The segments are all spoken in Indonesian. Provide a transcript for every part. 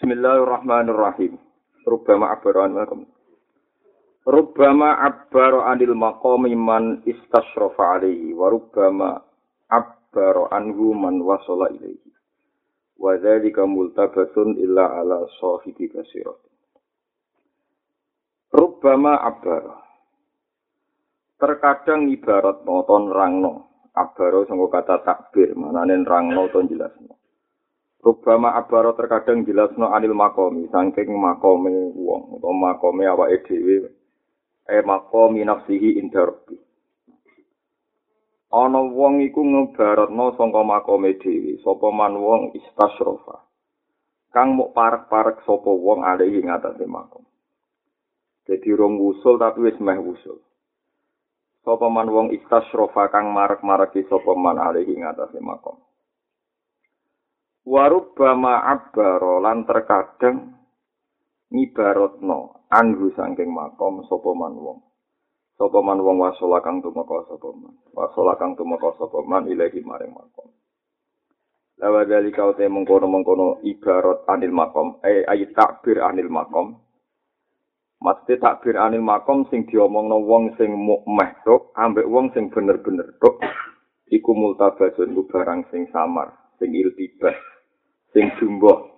Bismillahirrahmanirrahim. Rubbama abbara anil maqami man istashrafa alaihi wa rubbama abbara anhu man wasala ilaihi. Wa dzalika multabasun illa ala sahibi basirat. Rubbama abbara. Terkadang ibarat noton rangno. Abbara sanggo kata takbir, manane rangno to jelasno. Rubbama abaro terkadang jelasno anil makomi, saking makome wong utawa makome awake dhewe makomi nafsihi inda rabbi. Ana wong iku ngebaratno saka makome dhewe, sapa man wong istasrofa. Kang mok parek-parek sapa wong alihi ngatasé makom. Dadi rong wusul tapi wis meh wusul. Sapa man wong istasrofa kang marek-mareki sapa man alihi ngatasé makom. Warubbama abbaro lan terkadang ngibaratno anhu saking makom sapa man wong. Sapa man wong wasala kang tumeka sapa man. Wasala kang tumeka sapa man ilahi maring makom. Lawa dalika uta mengkono-mengkono ibarat anil makom, ayat takbir anil makom. Mesti takbir anil makom sing diomongno wong sing mukmeh tok ambek wong sing bener-bener tok iku multabasun ku barang sing samar, sing iltibas. Sing jumbo.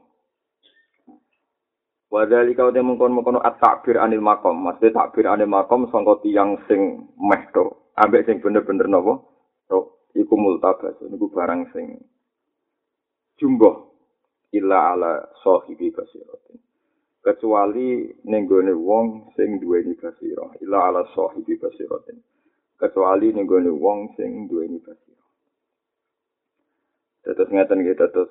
Wadhalika uta mengkon-mengkono at-takbir anil makom. Maksudnya takbir anil makom sangka tiyang sing meh to, ambek sing bener-bener napa? To iku multabas, niku barang sing jumbo illa ala sahibi basiratin. Kecuali ning gone wong sing duweni basirah, illa ala sahibi basiratin. Kecuali ning gone wong sing duweni basirah. Terus ngaten iki terus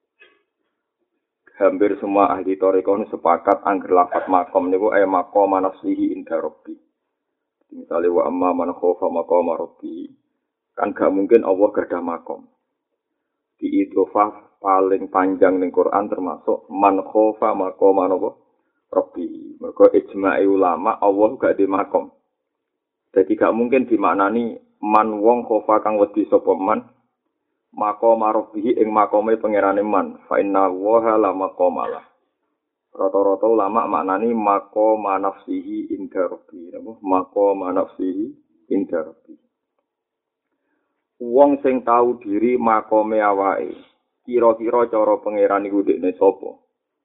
hampir semua ahli thariqah sepakat angger lafaz makom niku maqam nafsihi inda rabbi. Misale wa amma man khofa maqama rabbi. Kan gak mungkin Allah gadah makom. Di idhofah paling panjang ning Quran termasuk man khofa maqama rabbi. Mergo ijma'i ulama Allah gak di makom. Jadi gak mungkin dimaknani man wong khofa kang wedi sapa man maqama rabbihi ing makome pangerane man fa inna waha la maqamalah. Rata-rata ulama maknani maqama nafsihi inda rabbi. Maqama nafsihi inda rabbi. Wong sing tahu diri makome awake, kira-kira cara pangeran iku dekne sapa?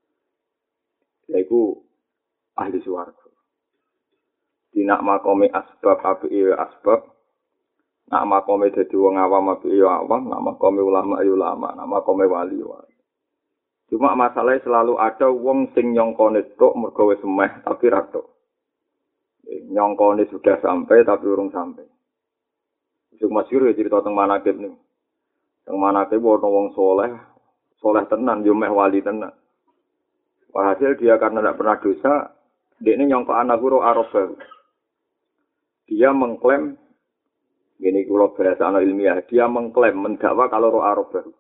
Yaiku ahli swarga. Dinak makome asbab apike asbab. Nak makome dadi wong awam apike ya awam, nak makome ulama ya ulama, nak makome wali wali. Cuma masalahnya selalu ada wong sing nyongkone tok mergo wis semeh tapi ra tok. Nyongkone sudah sampai tapi urung sampai. Sing masyhur ya cerita teng manakib niku. Teng manakib ono wong soleh tenan yo meh wali tenan. Walhasil dia karena tidak pernah dosa, dekne nyongkok anak guru Arab. Dia mengklaim ini kalau bahasa ilmiah, dia mengklaim, mendakwa kalau roh Arab baru.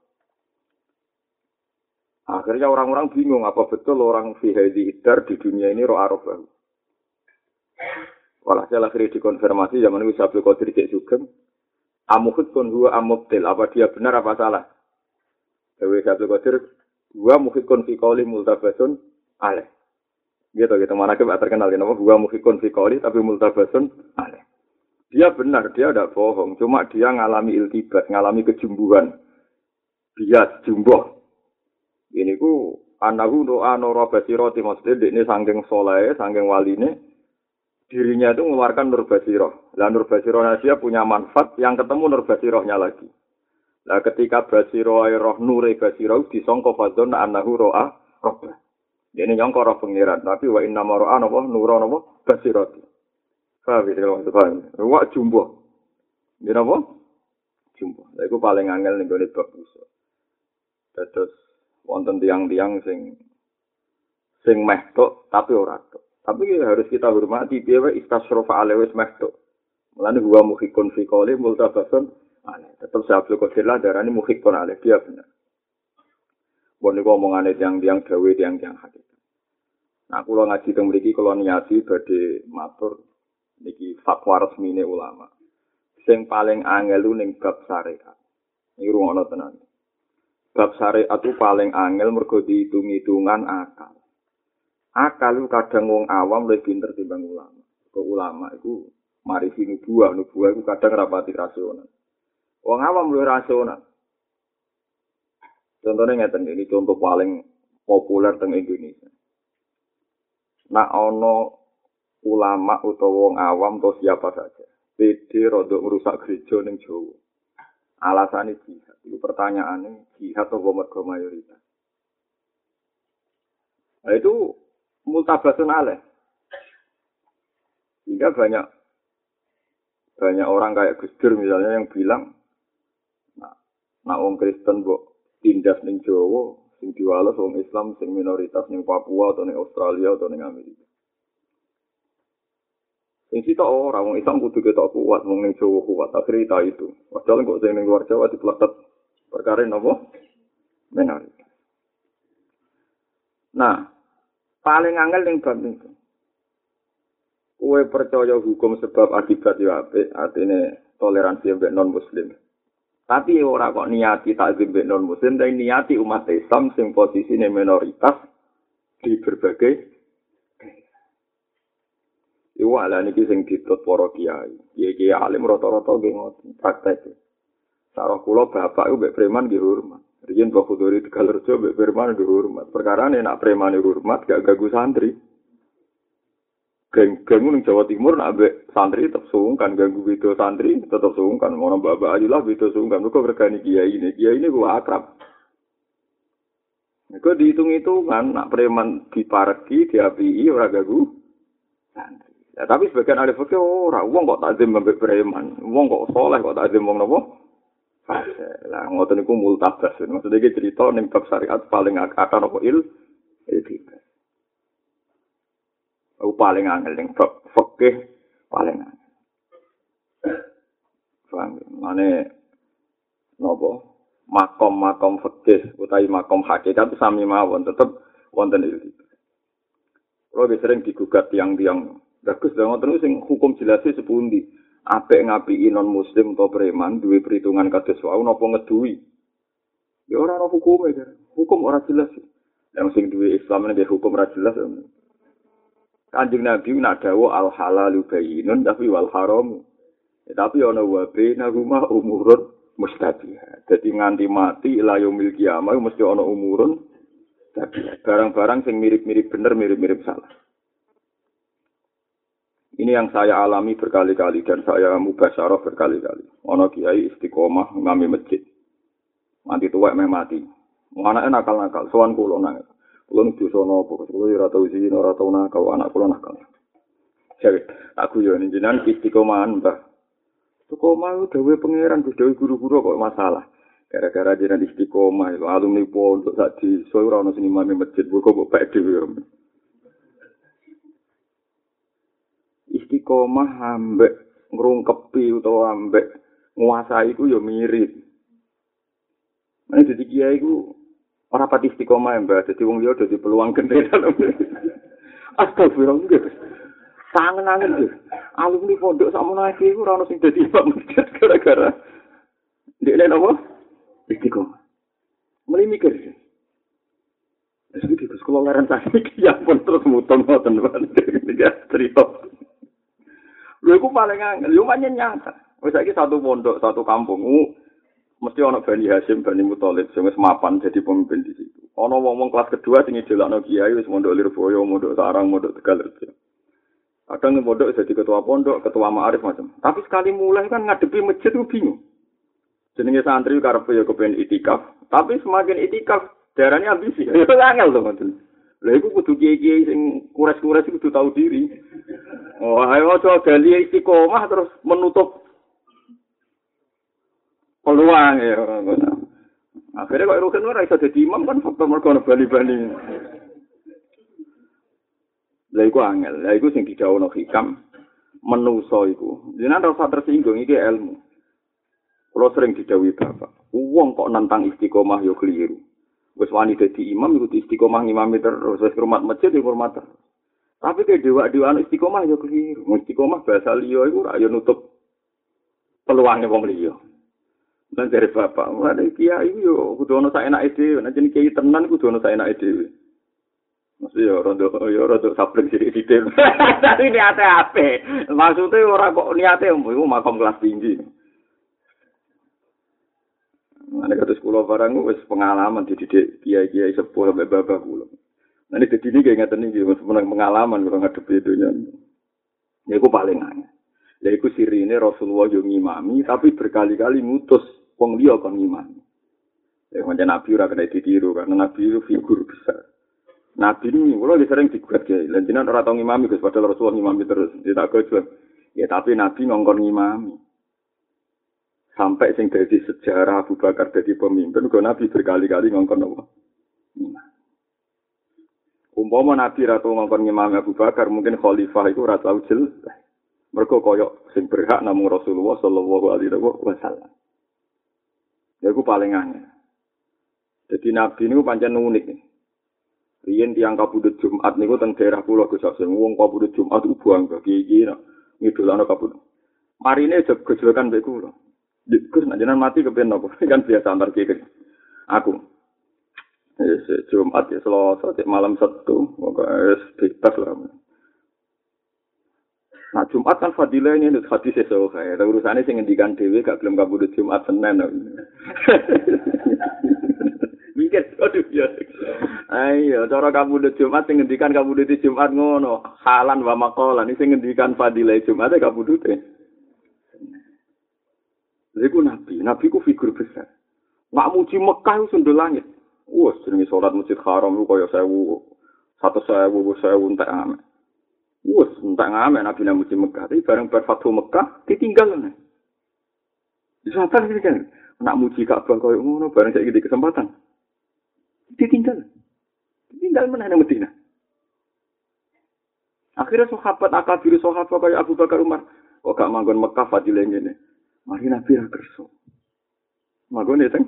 Akhirnya orang-orang bingung, apa betul orang fi hadhihi dar di dunia ini roh Arab baru. Walhasil akhirnya dikonfirmasi, zaman itu Abdul Qadir Cek Sugeng, amuhud kun huwa amubtil, apa dia benar apa salah? Dewi Abdul Qadir, huwa muhid kun fi qawli multabasun aleh. Gitu, mana kita terkenal, nama huwa muhid kun fi qawli, tapi multabasun aleh. Dia benar, dia tidak bohong. Cuma dia ngalami iltibas, ngalami kejumbuhan. Bias, jumboh. Ini ku anahu doa nora basirati. Maksudnya ini saking soleh, saking waline. Dirinya itu mengeluarkan nur basiroh. Lah nur basirohnya dia punya manfaat yang ketemu nur basirohnya lagi. Lah ketika basiroh roh nure basiroh disangka fadzon anahu roa robbah. Ini nyangka roh pengiran. Tapi wa inna maro'a napa nura napa basirati. Paham ya, kalau paham. Wak jumbo. Ini apa? Jumbo. Nah, itu paling angel nih gue bab usul. Terus wonten tiang-tiang sing meh tok tapi ora tok. Tapi harus kita hormati piye istasrofa alewis meh tok. Mulane huwa muhikun fi qali multabasun aneh. Tetep Abdul Qadir lah darani muhikun aleh dia benar. Bon niku omongane tiang-tiang gawe tiang-tiang hakikat. Nah, kula ngaji teng mriki kula niati badhe matur niki fatwa resmine ulama. Sing paling angel ning bab syariat. Iki rungono tenan. Bab syariat itu paling angel mergo dihitung-hitungan akal. Akal itu kadang wong awam lebih pinter timbang ulama. Kok ulama itu marisi nubuah itu kadang rapati rasional. Wong awam luwih rasional. Contohnya ngeten ini contoh paling populer teng Indonesia. Nak ono ulama utawa wong awam atau siapa saja, pede rodok merusak gereja ning Jawa. Alasane jihad. Itu pertanyaannya jihad atau mergo mayoritas. Nah, itu multabasun alaih. Sehingga banyak orang kayak Gus Dur misalnya yang bilang, nah wong Kristen mbok tindas ning Jawa, sing diwales wong Islam sing minoritas ning Papua atau ning Australia atau ning Amerika. Sing sitok ora wong Islam kudu ketok kuat wong ning Jawa kuat akhirnya itu. Padahal kok sing ning luar Jawa dipletet perkara napa? Minoritas. Nah, paling angel ning bab niku. Kowe percaya hukum sebab akibat ya apik, artine toleransi mbek non muslim. Tapi ora kok niati takzim mbek non muslim, tapi niati umat Islam sing posisine minoritas di berbagai iku ala niki sing ditut para kiai. Kiai alim rata-rata nggih ngoten praktek. Sarah kula bapak iku mbek preman nggih hormat. Riyen Pak Khudori Tegalrejo mbek preman nggih hormat. Perkarane nek preman hormat gak ganggu santri. Geng-geng ning Jawa Timur nek mbek santri tetep sungkan ganggu video santri tetep sungkan. Ono bapak ajulah video sungkan. Kok regani kiai ini gua akrab. Nek dihitung-hitungan nak preman dipareki diapii ora ganggu santri. Ya, tapi sebagian ahli fikih ora wong kok takzim mbek preman, wong kok saleh kok takzim wong napa? Lah ngoten niku multabas. Maksudnya iki cerita ning bab syariat paling akar apa etika. Paling angel ning bab fikih paling angel. Paham? Mane napa? Makom fikih utawi makom hakikat sami mawon tetep wonten etika. Kalau sering digugat tiang-tiang bagus dong, terus sing hukum jelasnya sepundi. Apik ngapiki non muslim atau preman duwe perhitungan kados wau napa ngeduwi. Ya ora ana hukume kan. Hukum ora jelas. Yang sing duwe Islam nek hukum ora jelas. Kanjeng Nabi nak dawuh al halalu bayyinun tapi wal haram. Ya, tapi ana wa bainahuma umurun mustabihat. Dadi nganti mati ila yaumil kiamah mesti ana umurun tabiat. Barang-barang sing mirip-mirip bener mirip-mirip salah. Ini yang saya alami berkali-kali dan saya mubasyarah berkali-kali. Ono kiai istiqomah ngami masjid. Mati tuwek meh mati. Anake nakal-nakal, sowan kula nang. Kula nuju sono apa, kula ora tau izin, ora tau nakal, anak kula nakal. Jadi, aku yo jenengan istiqomahan, Mbah. Istiqomah dawuh pangeran, dawuh guru-guru kok masalah. Gara-gara jenengan istiqomah, alumni pondok sak desa ora ono sing imame masjid, kok bae dhewe. Istiqomah ambek ngrungkepi utawa ambek nguasai iku ya mirip. Nek dadi kiai iku ora pati istiqomah mbak, dadi wong liya dadi peluang gede dalam. Astagfirullah. Sangen-angen lho. Alumni pondok sakmono iki ora ono sing dadi imam masjid gara-gara ndekne napa? Istiqomah. Mulai mikir. Wis iki sekolah leren sakit ya pun terus muton ngoten ya cerita. Lha iku paling angel, yo pancen nyata. Wis saiki satu pondok, satu kampung, mesti ana Bani Hasyim, Bani Muthalib sing wis mapan jadi pemimpin di situ. Ana wong-wong kelas kedua sing ngedelakno kiai wis mondok Lirboyo, mondok Sarang, mondok Tegalrejo. Kadang ning pondok jadi ketua pondok, ketua ma'arif macam. Tapi sekali mulai kan ngadepi masjid ku bingung. Jenenge santri karepe ya kepen itikaf, tapi semakin itikaf darahnya ambisi. Ya angel to ngoten. Lha iku kudu kiai-kiai sing kures-kures kudu tahu diri. Oh, ayo aja gali istiqomah terus menutup peluang ya. Akhirnya kok rugen ora iso dadi imam kan faktor mergo ana bali-bali. Lha iku angel, lha iku sing didhawuhno hikam menungso iku. Jenengan ora tersinggung iki ilmu. Kula sering didhawuhi Bapak, wong kok nantang istiqomah yo keliru. Wis wani dadi imam iku istiqomah ngimami terus, wis hormat masjid yo hormat terus. Tapi ke dewa-dewa istiqomah ya keliru. Istiqomah bahasa liya iku ora ya nutup peluange wong liya. Lan dari bapak, mulane kiai yo kudu ana saenake dhewe, nek jeneng kiai tenan kudu ana saenake dhewe. Mesti yo rondo sabreng sithik-sithik. Tapi niate apik. Maksudnya ora kok niate iku makom kelas tinggi. Nek kados kula barang wis pengalaman dididik kiai-kiai sepuh sampe bapak kula. Nek dadi iki ngeten iki pengalaman kula ngadepi donya. Niku paling aneh. Lha iku sirine Rasulullah yo ngimami tapi berkali-kali ngutus wong liya kon ngimami. Ya pancen Nabi ora kena ditiru karena Nabi itu figur besar. Nabi ini, kalau sering digugat ya, lanjutan orang tahu ngimami, Gus, padahal Rasulullah ngimami terus, tidak gojol. Ya tapi Nabi ngongkon ngimami. Sampai sing dari sejarah Abu Bakar jadi pemimpin, kalau Nabi berkali-kali ngongkon apa? Ngimami. Umpama Nabi ratu ngongkon ngimami Abu Bakar, mungkin khalifah itu ratu ujil. Mereka koyok sing berhak namung Rasulullah Sallallahu Alaihi Wasallam. Ya itu paling aneh. Jadi Nabi ini pancen unik nih. Riyen tiyang kabudut Jumat niku teng daerah kula Gus Hasim. Wong kabudut Jumat ku buang iki ngidolano kabudut. Marine gejolokan mbek kula. Gus nek jenengan mati kepen napa? Kan biasa antar kiri. Aku. Jumat ya Selasa cek malam Sabtu, wis bebas lah. Nah Jumat kan fadilah ini hadis esok kae. Urusane sing ngendikan dhewe gak gelem kabudut Jumat Senin. Mikir aduh ya. Ayo, cara kabudut Jumat sing ngendikan kabudut Jumat ngono, halan wa maqalan sing ngendikan fadilah Jumat kabudute. Iku nabi ku figur besar. Mak muji Mekah ku sundul langit. Wah, jenenge salat Masjid Haram ku kaya 1000 entek ame. Wah, entek ame nabi nang muji Mekah, tapi bareng bar Fathu Mekah ditinggal. Disapa iki kan? Nak muji Ka'bah kaya ngono bareng saiki di kesempatan. Ditinggal mana yang Medina. Akhirnya sahabat akabir sahabat kayak Abu Bakar Umar, kok gak manggon Mekah fadilah ngene. Mari Nabi ra kerso. Manggon teng.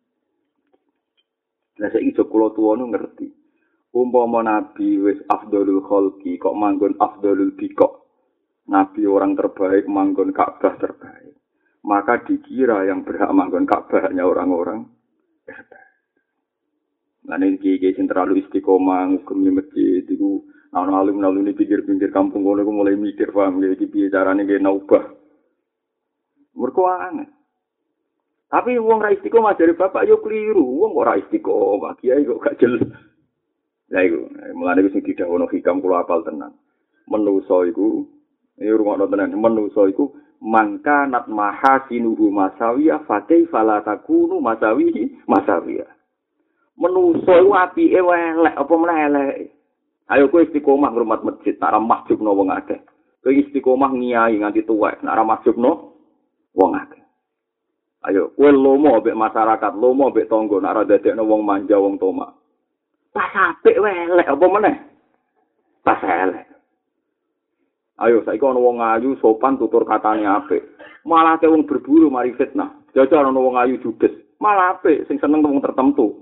Lah saiki kula tuwa ngerti. Umpama Nabi wis afdhalul khalqi kok manggon afdhalul biqa. Nabi orang terbaik manggon Ka'bah terbaik. Maka dikira yang berhak manggon Ka'bah hanya orang-orang terbaik. Lan iki sing terlalu istiqomah ngugemi masjid iku ana alim-alim ini pinggir-pinggir kampung kono iku mulai mikir paham iki piye carane nggih naubah. Mergo aneh. Tapi wong ra istiqomah dari bapak yo keliru. Wong kok ra istiqomah, kiai kok gak jelas. Lah iku mulane sing didhawuhno hikam kula apal tenan. Menusa iku rungokno tenan, menusa iku mangka nat mahasinuhu masawiyah fa kaifa la takunu masawiyah. Menusa iku apike elek apa meneh elek. Ayo kowe istiqomah ngrumat masjid, tak ra mahjubno wong akeh. Kowe istiqomah ngiyai nganti tuwek, nak ra mahjubno wong akeh. Ayo kowe lomo mbek masyarakat, lomo mbek tangga, nak ra dadekno wong manja wong tomak. Pas apik elek apa meneh? Pas elek. Ayo saiki ana wong ayu sopan tutur katane apik. Malah te wong berburu mari fitnah. Jajal ana wong ayu judes. Malah apik sing seneng wong tertentu.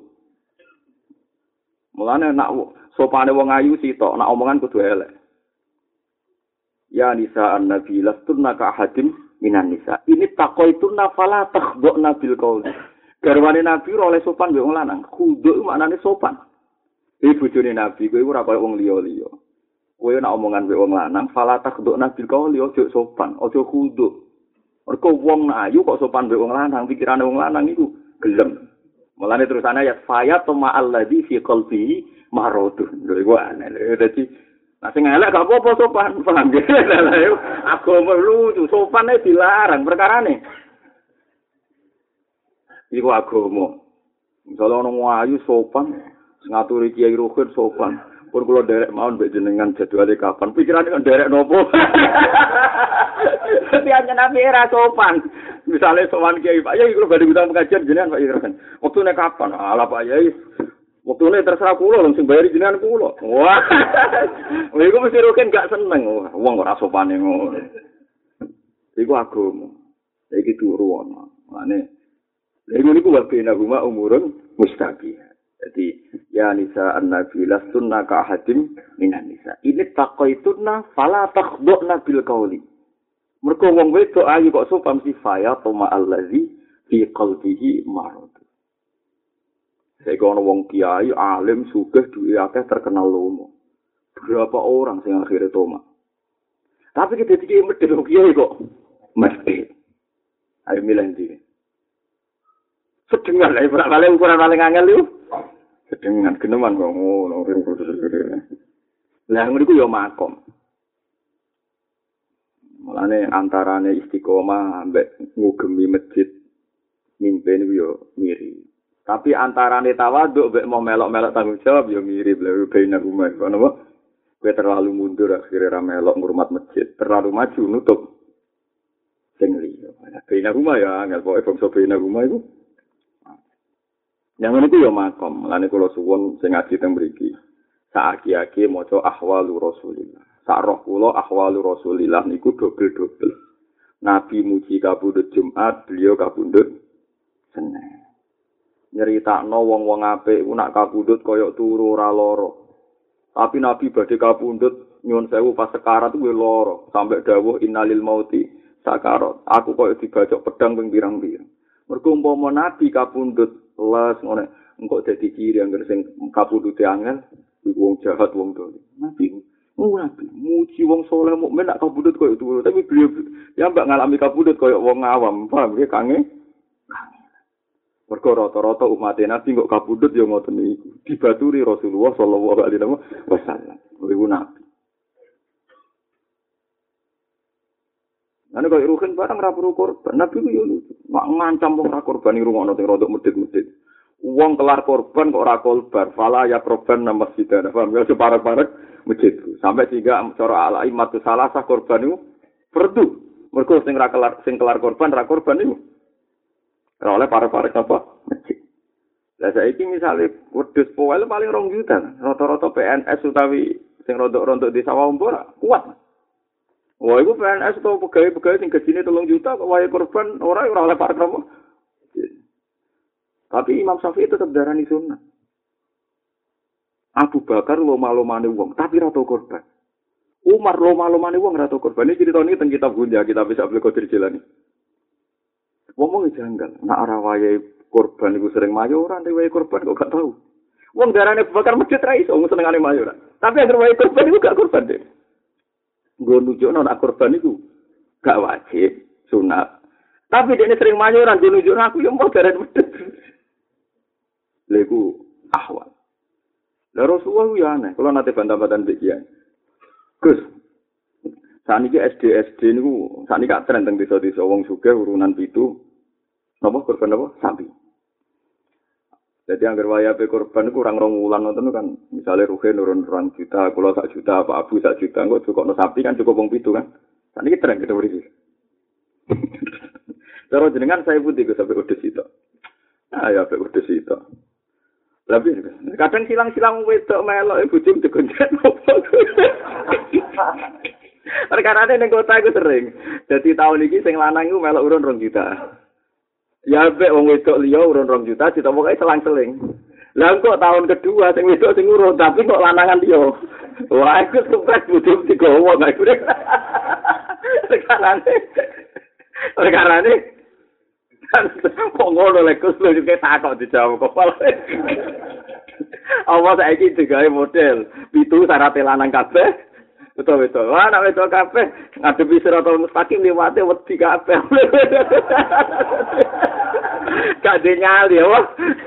Mulane nak sopane wong ayu sitok, nak omongan kudu elek. Ya nisa an-nabi lastunna ka ahadin minan nisa. Ini taqaitunna fala takhdhna bil qaul. Garwane nabi ora oleh sopan mbek wong lanang. Khudhu maknane sopan. Bojone nabi kowe ora kaya wong liya-liya. Kowe nak omongan mbek wong lanang fala takhdhna bil qaul ojo sopan, ojo khudhu. Mergo wong ayu kok sopan mbek wong lanang, pikirane wong lanang iku gelem. Mulane terusane ayat faya tama alladzi fi qalbi maradun. Lho iku aneh. Dadi nek sing elek gak apa-apa sopan, paham ge. Agama lucu, sopane dilarang perkarane. Iku agama. Misale ana wong ayu sopan, ngaturi Kiai Ruhin sopan. Pun kula derek mawon mbek jenengan jadwale kapan. Pikirane kan derek nopo. Piye nabi era sopan. Misalnya sowan Kiai Pak Yai kula badhe ngundang pengajian jenengan Pak Yai. Wektune kapan? Ala Pak Yai. Wektune terserah kula sing bayari jenengan kula. Wah. Lha iku mesti roken gak seneng. Wong ora sopane ngono. Iku agama. Iki turu ana. Mane lha niku wabena huma umurun mustaqiyah. Jadi ya nisa an-nabi lastunna ka ahadim minan nisa. Ini taqaitunna fala takhdhna bil qauli. Mergo wong wedok ayu kok sopan si faya toma allazi fi qalbihi marad. Saiki ana wong kiai alim sugih duwe akeh terkenal lomo. Berapa orang sing akhirnya tomat. Tapi kita dikira medhit kiai kok mesti. Ayo milih ndi. Sedengan lah ora kali ukuran paling angel yo. Sedengan geneman kok ngono. Lah ngono iku yo makom. Mulane antarane istiqomah ambek ngugemi masjid mimpi niku yo mirip. Tapi antarane tawaduk mbek mau melok-melok tanggung jawab yo mirip lha beina rumah kono apa? Kowe terlalu mundur akhirnya ra melok ngurmat masjid, terlalu maju nutup sing liya. Beina rumah ya angel pokoke bangsa beina rumah iku. Yang ngene iku yo makom. Mulane kula suwun sing ngaji teng mriki. Saaki-aki maca ahwalu Rasulillah. Sak roh kula ahwalu Rasulillah niku dobel-dobel. Nabi muji kabudut Jumat, beliau kabudut Senin. Nyeritakno wong-wong apik ku nak kabudut kaya turu ora lara. Tapi Nabi badhe kabudut nyuwun sewu pas sekarat kuwi lara, sampai dawuh innalil mauti sakarat. Aku kaya dibacok pedang ping pirang-pirang. Mergo umpama Nabi kabudut les ngene engko dadi ciri anggere sing kabudute angel iku wong jahat wong dolim. Nabi muji wong saleh mukmin nak kabudut kaya turu, tapi beliau ya mbak ngalami kabudut kaya wong awam, paham nggih kange? Mergo rata-rata umat Nabi kok kabudut ya ngoten niku. Dibaturi Rasulullah sallallahu alaihi wasallam. Iku Nabi. Ane kok ruhen barang ra perlu korban. Nabi ku yo ngancam wong ra korban ngrungokno sing rodok medhit-medhit. Wong kelar korban kok ora kolbar, fala ya korban nang masjid. Paham ya separek-parek masjid. Sampai sehingga cara al-aimatus salasah korban niku perdu. Mergo sing kelar korban ra korban niku. Ora oleh parek-parek apa? Masjid. Lah saiki misale wedhus poel paling 2 juta. Rata-rata PNS utawi sing rontok-rontok di sawah ora kuat. Wah, iku PNS atau pegawai-pegawai sing gajine 3 juta kok wae korban ora oleh parek apa? Tapi Imam Syafi'i tetap darani sunnah. Abu Bakar loma-lomane wong, tapi ra tau korban. Umar loma-lomane wong ra tau korban. Iki critane teng kitab Gunja, kita bisa beli Qadir Jilani. Wong janggal, nak arah wayahe korban iku sering mayoran, wayahe korban kok gak tahu. Wong darane bakar masjid ra iso senengane mayoran. Tapi anggere wayahe korban iku gak korban deh. Nggo nunjukno nak korban iku gak wajib, sunat. Tapi dene sering mayoran, dia nunjukno aku yo mau darane medhit. Lha iku ahwal. Lah Rasulullah yo aneh, kula nate bantah-bantahan mbek kiai. Gus, saniki SD niku saniki gak tren teng desa-desa wong sugih urunan 7. Napa korban apa? Sapi. Jadi anggar wayahe korban kurang 2 wulan ngoten kan. Misale ruhe nurun 2 juta, kula 1 juta, Pak Abu 1 juta, engko cukupno sapi kan cukup wong 7 kan. Saniki tren kita mriki. Cara jenengan saya putih ke sampai wedhus itu. Ah ya sampai wedhus itu. Lebih kadang silang-silang wedok melok bojone digonjet. Perkarane ning kota iku sering. Dadi tahun iki sing lanang iku melok urun 2 juta. Ya mbek wong wedok liya urun 2 juta ditomoke selang-seling. Lah kok tahun kedua sing wedok sing urun tapi kok lanangan liya. Wah iku sukses bodho digowo gak iku. Perkarane kok ngono lek kus lho iki takok dijawab kepala. Apa saiki digawe model 7 syarat lanang kabeh. Betul. Wah, nek wedok kabeh ngadepi siratal mustaqim liwate wedi kabeh. Gak dinyali ya, wah.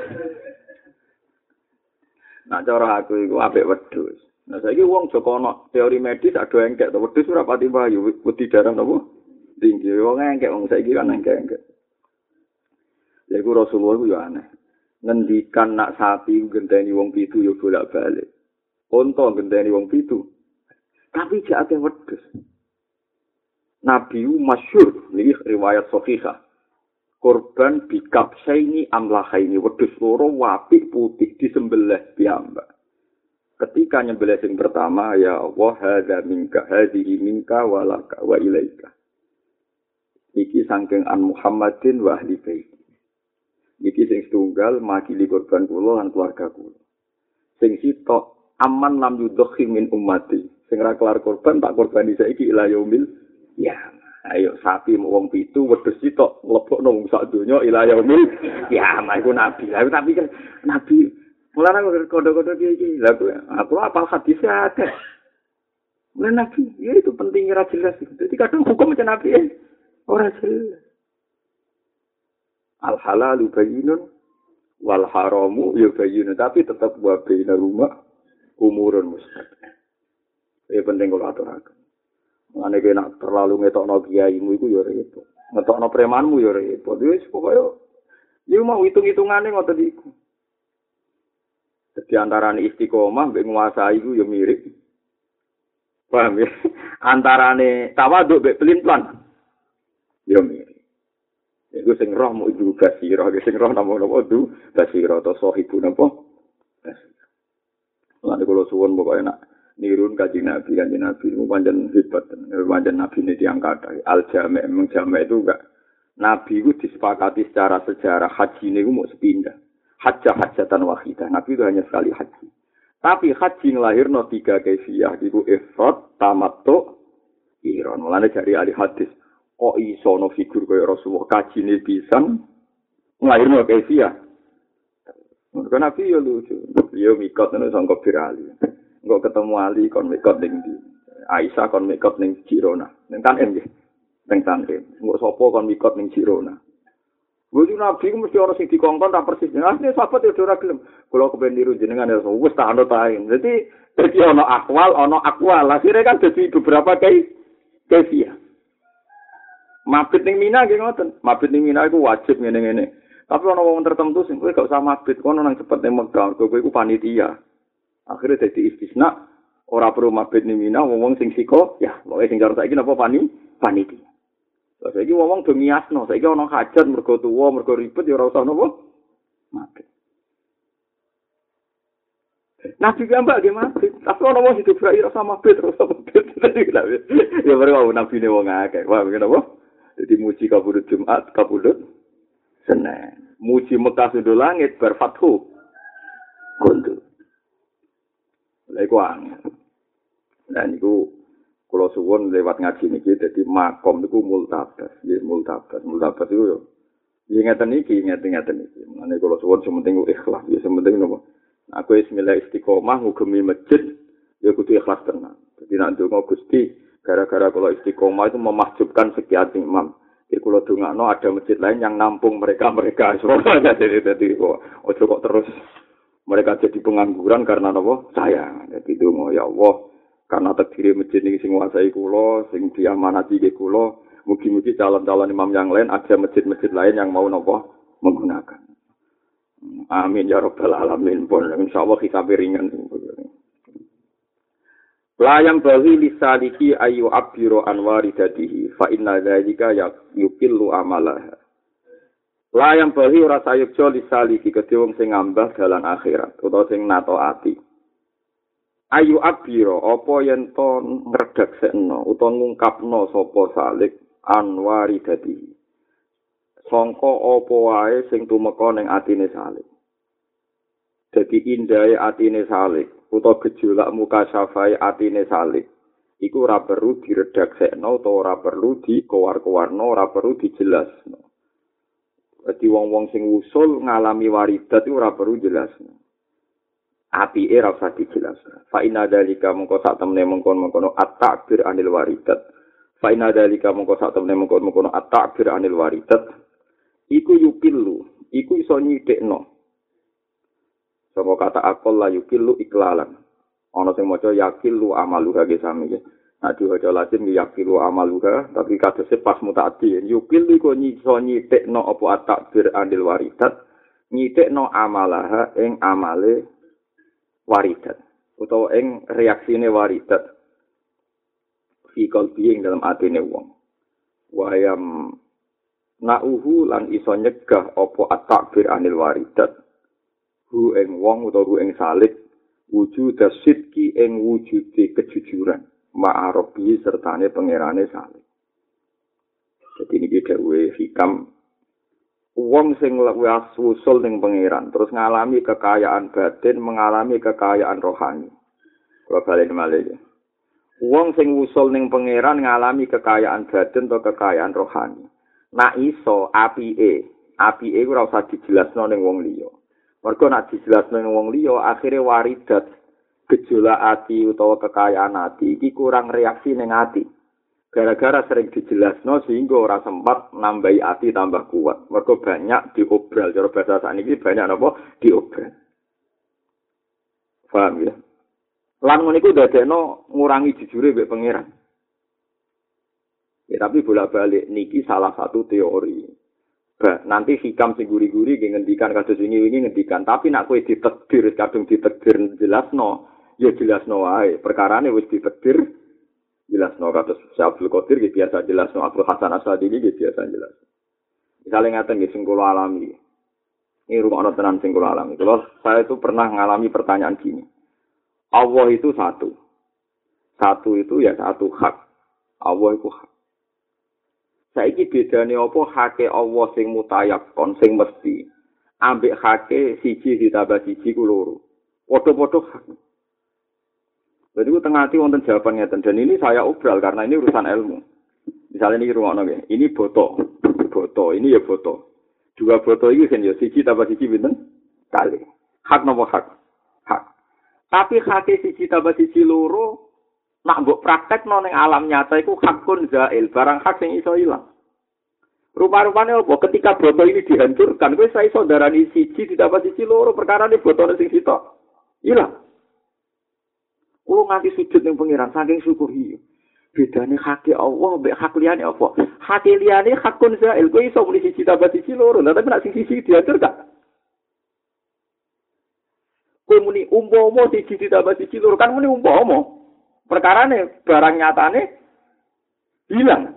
Nah, cara aku iku apik wedhus. Nah, saiki wong Joko ana teori medis ado engkek to wedhus ora pati payu, wedi darah napa? Tinggi wong engkek wong saiki kan engkek. Lha iku Rasulullah ku yo aneh. Ngendikan nak sapi genteni wong 7 yo bolak-balik. Unta genteni wong 7. Tapi jek akeh wedhus. Nabi masyhur niki riwayat sahihah. Korban bikap saini amlahaini wedhus loro apik putih disembelih piyambak. Ketika nyembelih sing pertama ya Allah hadza minka hadhihi minka walaka wa ilaika. Iki saking an Muhammadin wa ahli bait. Iki sing setunggal makili korban kula lan keluarga kula. Sing sitok aman lam yudhhi min ummati. Sing ra kelar korban tak korban saiki ila yaumil ya. Ayo sapi wong 7 wedhus sitok mlebokno wong sak donya ila yaumil kiamat iku nabi. Lah tapi kan nabi mulane kode-kode iki. Lah aku apal hadis akeh. Mulane nabi ya itu pentingnya ra jelas. Jadi kadang hukum macam nabi ora jelas. Al halalu bayyinun wal haramu ya bayyinun tapi tetap wa baina rumah umurun mustaqbal. Ya penting kalau aturaken. Mane nek terlalu ngetokno kiaimu iku ya repot. Ngetokno premanmu ya repot. Wis pokoke ya mau hitung-hitungane ngoten iku. Dadi antarane istiqomah mbek nguasai iku ya mirip. Paham ya? Antarane tawadhu mbek pelin-pelan ya mirip. Iku sing roh mau ibu basira, sing roh napa du basira to sahibu napa? Lan kula suwun pokoke nak nirun kanjeng Nabi niku pancen hebat, pancen nabi ini diangkat. Al-Jami' memang Jami' itu enggak nabi itu disepakati secara sejarah haji niku mau sepindah. Hajatan wahidah. Nabi itu hanya sekali haji. Tapi haji nglahirno 3 kaifiyah iku ifrad, tamattu, qiran. Mulane dari ahli hadis kok iso ana figur kaya Rasulullah kajine pisan nglahirno kaifiyah. Mergo Nabi yo lucu. Yo mikot nang sangka birali. Engko ketemu Ali kon mikot ning ndi? Aisyah kon mikot ning Girona. Ning Tanem nggih. Ning Tanem. Engko sapa kon mikot ning Girona? Wong Nabi ku mesti ora sing dikongkon tak persis. Asline sahabat yo ora gelem. Kula kepen niru jenengan ya wis tak anut ae. Dadi ana akwal, ana akwal. Akhire kan dadi beberapa kaifiyah. Mabit ning Mina nggih ngoten. Mabit ning Mina iku wajib ngene-ngene. Tapi ana wong tertentu sing kowe gak usah mabit kono nang cepet ning Mekah. Kowe iku panitia. Akhire dadi istisna ora perlu mabit ning Mina wong sing siko ya, pokoke sing karo saiki napa panitia. Lah saiki wong do miasno, saiki ana hajat mergo tuwa, mergo ribet ya ora usah napa mabit. Nabi gambak nggih mabit. Tapi ana wong hidup ra ora usah mabit, ora usah mabit. Ya baru nabi ne wong akeh. Wah, kenapa? Jadi muji kabudut Jumat, kabudut Senin. Muji Mekah sudah langit, berfathu. Kuntu. Lha iku angel. Nah niku kula suwun lewat ngaji niki dadi makom niku multabas. Nggih multabas. Multabas iku yo ngeten iki. Mane kula suwun sementing ikhlas, ya sementing napa. Aku wis milih istiqomah ngugemi masjid ya kudu ikhlas tenan. Dadi nek ndonga Gusti gara-gara kalau istiqomah itu memahjubkan sekian imam. Jadi kalau dungakno ada masjid lain yang nampung mereka. Semuanya jadi ojo kok terus mereka jadi pengangguran karena apa? Saya. Jadi donga ya Allah, karena terdiri masjid ini sing nguasai kula, sing diamanati ke kula, mugi-mugi calon-calon imam yang lain ada masjid-masjid lain yang mau napa menggunakan. Amin ya rabbal alamin. Insyaallah hisabe ringan. Layam bagi lisaliki ayu abiro anwari dadihi fa inna dzalika yukillu amalah. Layam bagi ora sayekjo lisaliki kedhe wong sing ngambah dalan akhirat utawa sing natoati. Ayu abiro apa yen to ngredaksekno utawa ngungkapno sapa salik anwari dadihi. Sangka apa wae sing tumeka ning atine salik. Dadi indahe atine salik utawa gejolak muka syafai atine salik iku ora perlu diredaksekno utawa ora perlu dikowar-kowarno, ora perlu dijelasno. Dadi wong-wong sing usul ngalami waridat iku ora perlu jelasno. Apike ora usah dijelasno. Fa inna dzalika mongko sak temene mengkon-mengkono at-ta'bir anil waridat. Fa inna dzalika mongko sak temene mengkon-mengkono at-ta'bir anil waridat. Iku yukilu, iku iso nyidekno. Sapa kata akol la yukilu iklalan. Ana sing maca yakilu amaluha ge sami ya. Nek diwaca Latin yakilu amaluha, tapi kadose pas mutaati. Yukilu iku iso nyidekno apa at-ta'bir anil waridat, nyidekno amalaha ing amale waridat utawa ing reaksine waridat fi qalbi ing dalam atine wong. Wayam nauhu lan iso nyegah apa at-ta'bir anil waridat hu ing wong utawa hu ing salik wujud sidki ing wujude kejujuran ma'arobi sertane pangerane salik. Jadi ini dhewe hikam wong sing wis usul ning pangeran terus ngalami kekayaan batin, mengalami kekayaan rohani. Kula bali malih. Wong sing wusul ning pangeran ngalami kekayaan badan atau kekayaan rohani. Nak iso apike ora usah dijelasno ning wong liya. Mergo nak dijelasno ning wong liya akhire waridat gejolak ati utawa kekayaan ati iki kurang reaksi ning ati. Gara-gara sering dijelasno sehingga ora sempat nambahi ati tambah kuat. Mergo banyak diobral, cara bahasa sakniki banyak napa diobral. Paham ya? Lan ngono iku dadekno ngurangi jujure mbek pangeran. Ya tapi bolak-balik niki salah satu teori. Nanti hikam sing guri-guri ngendikan kados wingi-wingi ngendikan, tapi nak kowe ditakdir kadung ditakdir jelasno, ya jelasno wae. Perkarane wis ditakdir jelasno kados Abdul Qadir iki biasa jelasno, Abdul Hasan Asadili iki biasa jelasno. Misalnya ngaten nggih sing kula alami. Ini rumah tenan sing kula alami. Kalau saya itu pernah mengalami pertanyaan gini. Allah itu satu. Satu itu ya satu hak. Allah itu hak. Saiki bedane apa hake Allah sing mutayakon sing mesti. Ambek hake siji ditambah siji ku loro. Padha-padha hak. Jadi ku tengah hati wonten jawaban ngeten dan ini saya obral karena ini urusan ilmu. Misalnya ini rungokno nggih. Ini boto. Boto, ini ya boto. Dua boto iki kan ya siji tambah siji pinten? Kali. Hak napa hak? Hak. Tapi hake siji tambah siji loro nak mbok praktekno ning alam nyata iku hakun zail, barang hak sing iso ilang. Rupa-rupane apa? Ketika boto ini dihancurkan, kowe iso darani siji ditambah siji loro, perkarane botone sing sitok ilang. Kulo nganti sujud ning pangeran saking syukuri. Bedane hake Allah mbek hak liyane apa? Hake liyane hakun zail, kowe iso muni siji tambah siji loro, tapi nek sing siji dihancurkan. Kowe muni umpama siji ditambah siji loro, kan muni umpama. Perkarane barang nyatane hilang.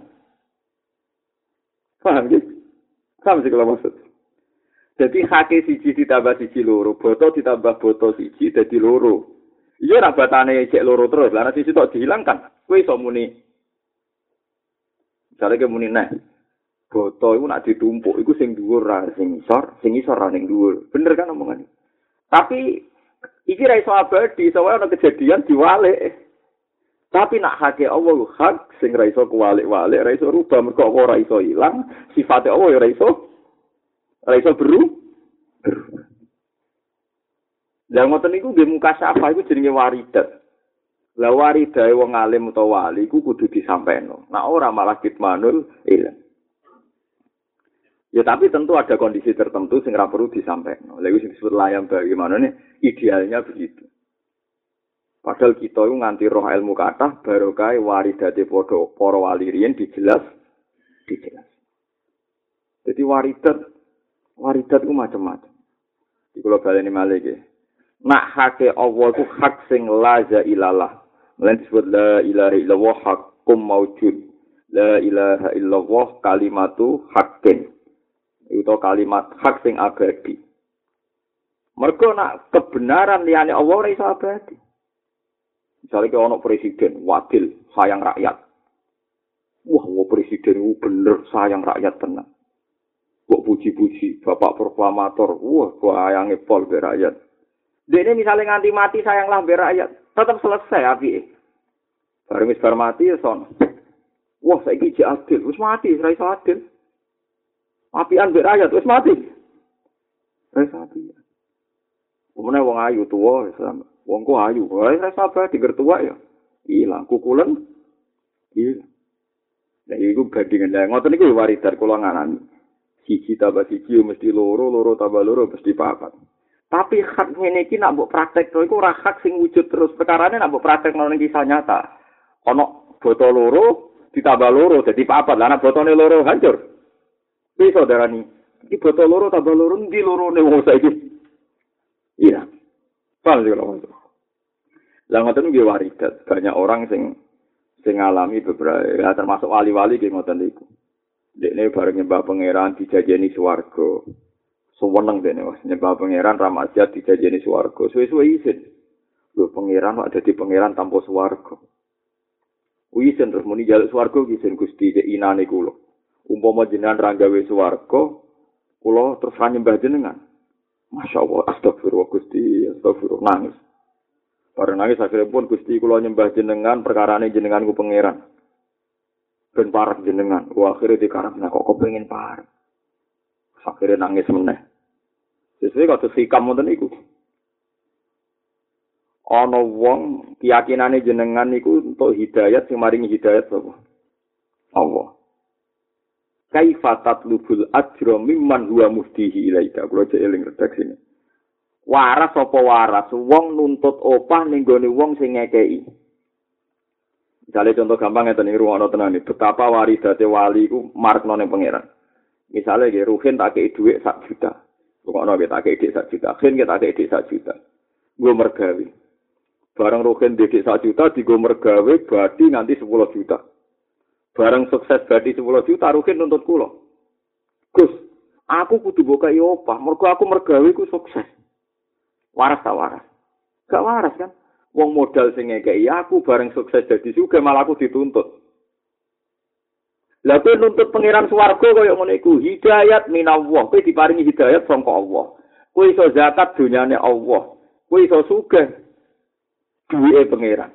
Paham gitu? Paham sih kalau maksud. Jadi hake siji ditambah siji loro, boto ditambah boto siji dadi loro. Iya ora batane cek loro terus, lan siji tok dihilangkan. Kowe iso muni. Jare ke muni neh. Boto iku nak ditumpuk iku sing dhuwur ra sing isor ra ning dhuwur. Bener kan omongane? Tapi iki ra iso abadi, soalnya ana kejadian diwalik. Tapi nak hake Allah hak sing ra iso kuwalik-walik, ra iso rubah mergo ora iso ilang, sifate Allah ya ra iso berubah. Lah ngoten niku nggih mukasyafah iku jenenge waridat. Lah waridae wong alim utawa wali iku kudu disampaino. Nah ora malah kitmanul ilang. Ya tapi tentu ada kondisi tertentu sing ra perlu disampaino. Lha iku sing disebut layam bagaimana nih idealnya begitu. Padahal kita itu nganti roh ilmu kathah barokah waridate padha para wali riyen dijelas. Jadi waridat ku macam-macam. Iki kula baleni malih nggih. Nak hake Allah ku hak sing la ilaha. Lan disebut la ilaha illallah haqqum maujud. La ilaha illallah kalimatu haqqin. Itu kalimat hak sing abadi. Mergo nak kebenaran liyane Allah ora iso abadi. Misalnya kalau ada presiden, wakil, sayang rakyat. Wah, presiden itu bener sayang rakyat tenang. Kok puji-puji, bapak proklamator, wah, sayangnya pol be rakyat. Dia misalnya nganti mati sayanglah be rakyat, tetap selesai api. Barang mati ya son. Wah, saya ini adil, wis mati, saya iso adil. Apian be rakyat, wis mati. Saya iso adil. Kemudian wong ayu tua, sama. Wong ku ayu, wae sabar digertuak ya. Ilang kukulen. Iya. Nah iku bandingan lah. Ngoten niku waridat kula nganani. Siji tambah siji mesti loro, loro tambah loro mesti papat. Tapi hak ngene iki nak mbok praktekno iku ora hak sing wujud terus. Perkarane nak mbok praktekno ning kisah nyata. Ana boto loro ditambah loro dadi papat. Lah nek botone loro hancur. Bisa darani. Iki boto loro tambah loro ndi lorone wong saiki. Iya. Paham sih kalau maksud. Lah ngoten nggih waridat. Banyak orang sing ngalami beberapa ya, termasuk wali-wali nggih ngoten niku. Dekne bareng nyembah pangeran dijajeni swarga. Suweneng dene wis nyembah pangeran ramadhan dijajeni swarga. Suwe-suwe isin. Lho pangeran kok dadi pangeran tanpa swarga. Isin terus muni jaluk swarga isin Gusti cek inane kula. Umpama jenengan ra gawe swarga, kula terus ra nyembah jenengan. Masya Allah, astagfirullah Gusti, astagfirullah nangis. Bareng nangis akhirnya pun Gusti kula nyembah jenengan perkarane jenengan ku pangeran. Ben parek jenengan. Wah akhirnya dikarepna kok kepengin parek. Akhirnya nangis meneh. Sesuai kados hikam wonten iku. Ana wong keyakinane jenengan niku untuk hidayat sing maringi hidayat sapa? Allah. Kaifa tatlubul ajra mimman huwa muftihi ilaika. Kula cek eling redaksine. Waras apa waras wong nuntut opah ning gone wong sing ngekeki. Misale contoh gampang ngeten iki ruwono tenan iki betapa waridate wali iku markno ning pangeran. Misale nggih Ruhin tak kei dhuwit 1 juta. Ruwono nggih tak kei dhuwit 1 juta. Ruhin tak kei dhuwit 1 juta. Nggo mergawe. Barang Ruhin didik 1 juta digo mergawe badi nanti 10 juta. Barang sukses badi 10 juta Ruhin nuntut kula. Gus, aku kudu mbok kei opah, mergo aku mergawe ku sukses. Waras tak waras? Gak waras kan? Wong modal sing ngekeki aku bareng sukses dadi sugih malah aku dituntut. Lah kowe nuntut pangeran swarga kaya ngene iku, hidayat minallah. Kowe diparingi hidayat saka Allah. Kowe iso zakat dunyane Allah. Kowe iso sugih duwike pangeran.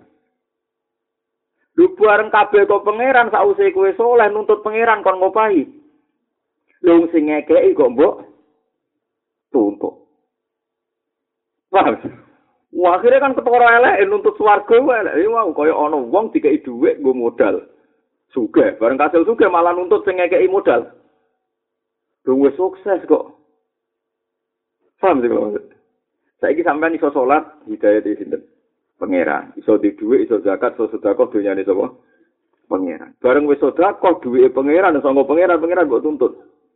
Lu bareng kabeh kok pangeran sause kowe saleh nuntut pangeran kon ngopahi. Lu sing ngekeki kok mbok tuntut. Paham? Wah, akhirnya kan ketara elek nuntut swarga elek. Wah, kaya ana wong dikeki dhuwit nggo modal. Sugih, bareng kasil sugih malah nuntut sing ngekeki modal. Dong wis sukses kok. Paham sih kalau saiki sampean iso salat hidayat iki sinten? Pangeran. Iso di dhuwit, iso zakat, iso sedekah dunyane sapa? Pangeran. Bareng wis sedekah dhuwite pangeran sanggo pangeran kok tuntut.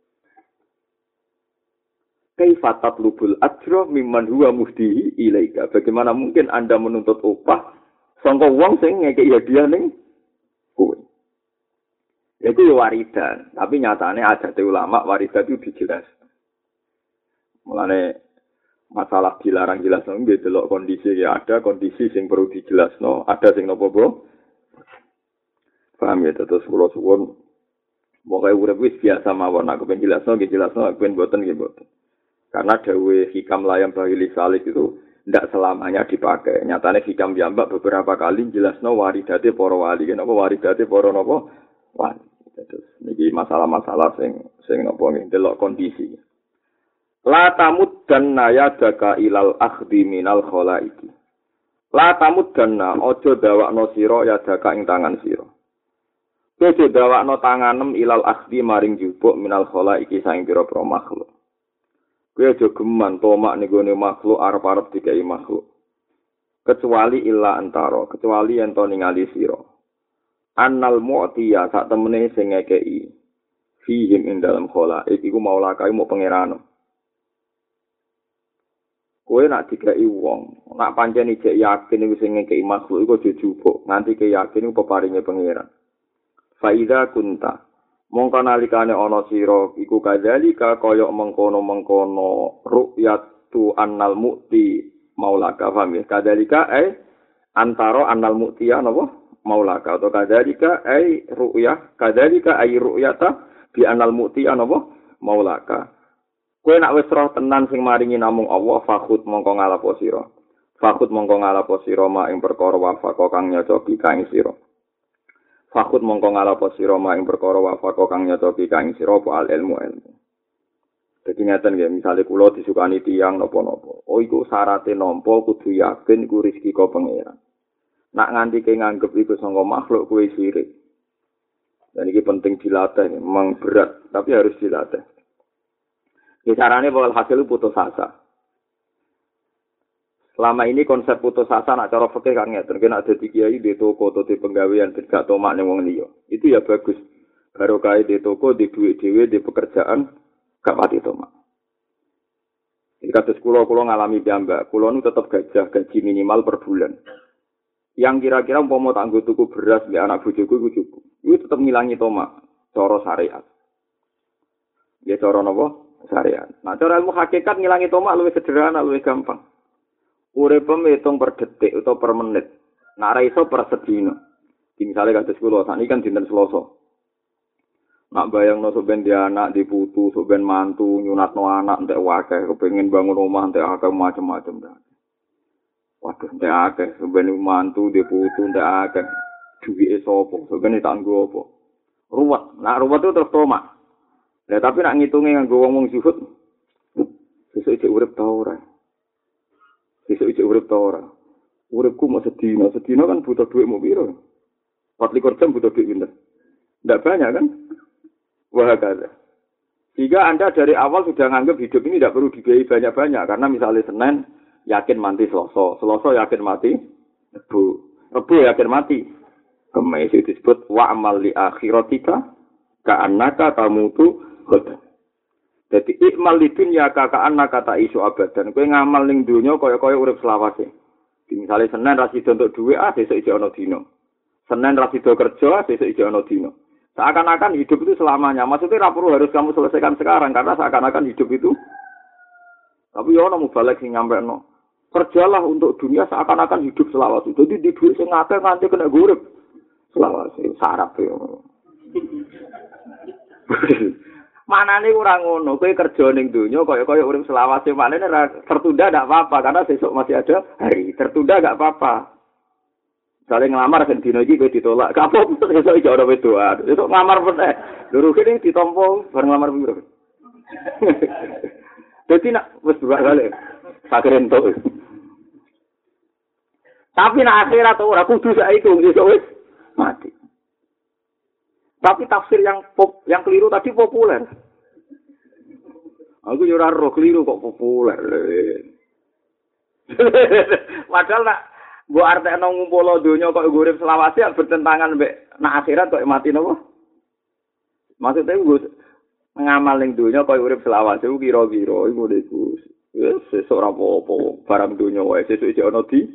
Kaifa tatlubul ajra mimman huwa muhdihi ilaika. Bagaimana mungkin Anda menuntut upah sangka wong sing ngekeki hadiah ning kowe. Itu ya waridan, tapi nyatane adat ulama waridan itu dijelas. Mulane masalah dilarang jelas nggih delok kondisi ya ada kondisi sing perlu dijelasno, ada sing napa bro. Paham ya terus kula suwun pokoke urip wis biasa mawon aku ben jelasno nggih jelasno aku ben boten nggih boten. Karena dawe hikam layam bahili salik itu tidak selamanya dipakai. Nyatanya hikam jambak beberapa kali jelasno waridate para wali. Kenapa waridate para napa wali. Terus niki masalah-masalah sing napa ndelok kondisi. La tamuddanna yadaka ilal akhdi minal khalaiki. La tamuddanna aja dawakno sira yadaka ing tangan sira. Aja dawakno tanganem ilal akhdi maring jupuk minal khalaiki saing pira-pira makhluk. Kowe aja geman tomak ning gone makhluk arep-arep dikai makhluk. Kecuali illa antara, kecuali yen to ningali sira. Annal mu'tiya sak temene sing ngekeki fihim ing dalam khalaik iku maula kae mau pangeran. Kowe nak dikai wong, nak pancen ijek yakin iku sing ngekeki makhluk iku aja jupuk, nganti ke yakin iku peparinge pangeran. Faida kunta mongko nalikane ana sira iku kadzalika kaya mengkono-mengkono ru'yatu annal mu'ti maulaka faham ya kadzalika antara annal mu'tiya napa maulaka atau kadzalika ru'yah kadzalika ru'yata bi annal mu'tiya napa maulaka kowe nak wis roh tenan sing maringi namung Allah fakhut mongko ngalapo sira ma ing perkara wafaka kang nyocoki kang sira Fakut mongko ngalapo sira ing perkara wafaka kang nyocoki kang sira apa al ilmu. Dadi ngaten nggih, misale kula disukani tiyang napa-napa. Oh iku syaraté nampa kudu yakin iku rezeki ka pangeran. Nak nganti ke nganggep iku sangka makhluk kuwi sirik. Dan iki penting dilatih, memang berat tapi harus dilatih. Iki carane bakal hasil putus asa. Selama ini konsep putus asa nak cara fikih kan ngeten, nek dadi kiai di toko atau di penggawean ben gak tomak ning wong liya. Itu ya bagus. Barokah di toko, di duit dhewe, di pekerjaan gak pati tomak. Jadi kados kula ngalami piyambak, kula nu tetep gaji minimal per bulan. Yang kira-kira umpama tak nggo tuku beras mbek anak bojoku iku cukup. Iku tetep ngilangi tomak cara syariat. Ya cara napa? Syariat. Nah cara ilmu hakikat ngilangi tomak luwih sederhana, luwih gampang. Uripem hitung per detik atau per menit. Nak ra iso per sedina. Misale kados kula sakniki kan dinten Selasa. Nak bayangno sok ben dia anak diputu, sok ben mantu nyunatno anak entek wae kepengin bangun omah entek akeh macam-macam. Waduh, entek akeh, sebenarnya mantu dia putu entek akeh. Duwike sapa? Sebenarnya tanggo apa? Ruwet. Nah, ruwet itu terus tomak. Lah tapi nak ngitunge nganggo wong zuhud, sesuk iki urip ta ora? Sesuk iki urip ta ora? Uripku mau sedina kan butuh duit mau piro? 24 jam butuh duit pinter. Enggak banyak kan? Wah kata. Jika Anda dari awal sudah nganggap hidup ini tidak perlu dibiayai banyak-banyak. Karena misalnya Senin, yakin mati Selasa. Selasa yakin mati Rebu. Rebu yakin mati. Kemis itu disebut wa'amal li akhiratika ka'annaka tamutu ghadan. Jadi ikmal li dunya ka'annaka ta'isu abadan. Kowe ngamal ning donya kaya-kaya urip selawase. Misalnya Senin ra sida untuk duit, sesuk iki ana dina. Senin ra sida kerja, sesuk iki ana dina. Seakan-akan hidup itu selamanya. Maksudnya tidak perlu harus kamu selesaikan sekarang. Karena seakan-akan hidup itu. Tapi ya mau balik sing nyampe no. Kerjalah untuk dunia seakan-akan hidup selawase. Jadi di duit sing akeh nganti kena gurip. Selawase sarap ya. Manane ora ngono. Kowe kerja ning donya kaya-kaya urip selawase manene tertunda ndak apa-apa karena besok masih ada hari. Tertunda enggak apa-apa. Saling ngelamar kan dino iki kowe ditolak. Kapok esuk iki ora wedoan. Esuk ngelamar meneh. Lho kene ditampa bareng ngelamar piro. Dadi nak wis dua kali. Sakren to. Tapi nak akhirat ora kudu saiki esuk wis mati. Tapi tafsir yang keliru tadi populer. Aku yo ora roh keliru kok populer. Padahal nak mbok artekno ngumpul donya kok urip selawase bertentangan mbek nak akhirat kok mati napa? Maksudnya nggo ngamal ning donya kok urip selawase kira-kira iku niku. Wis sesuk ora apa-apa, barang donya wae sesuk iki ana di.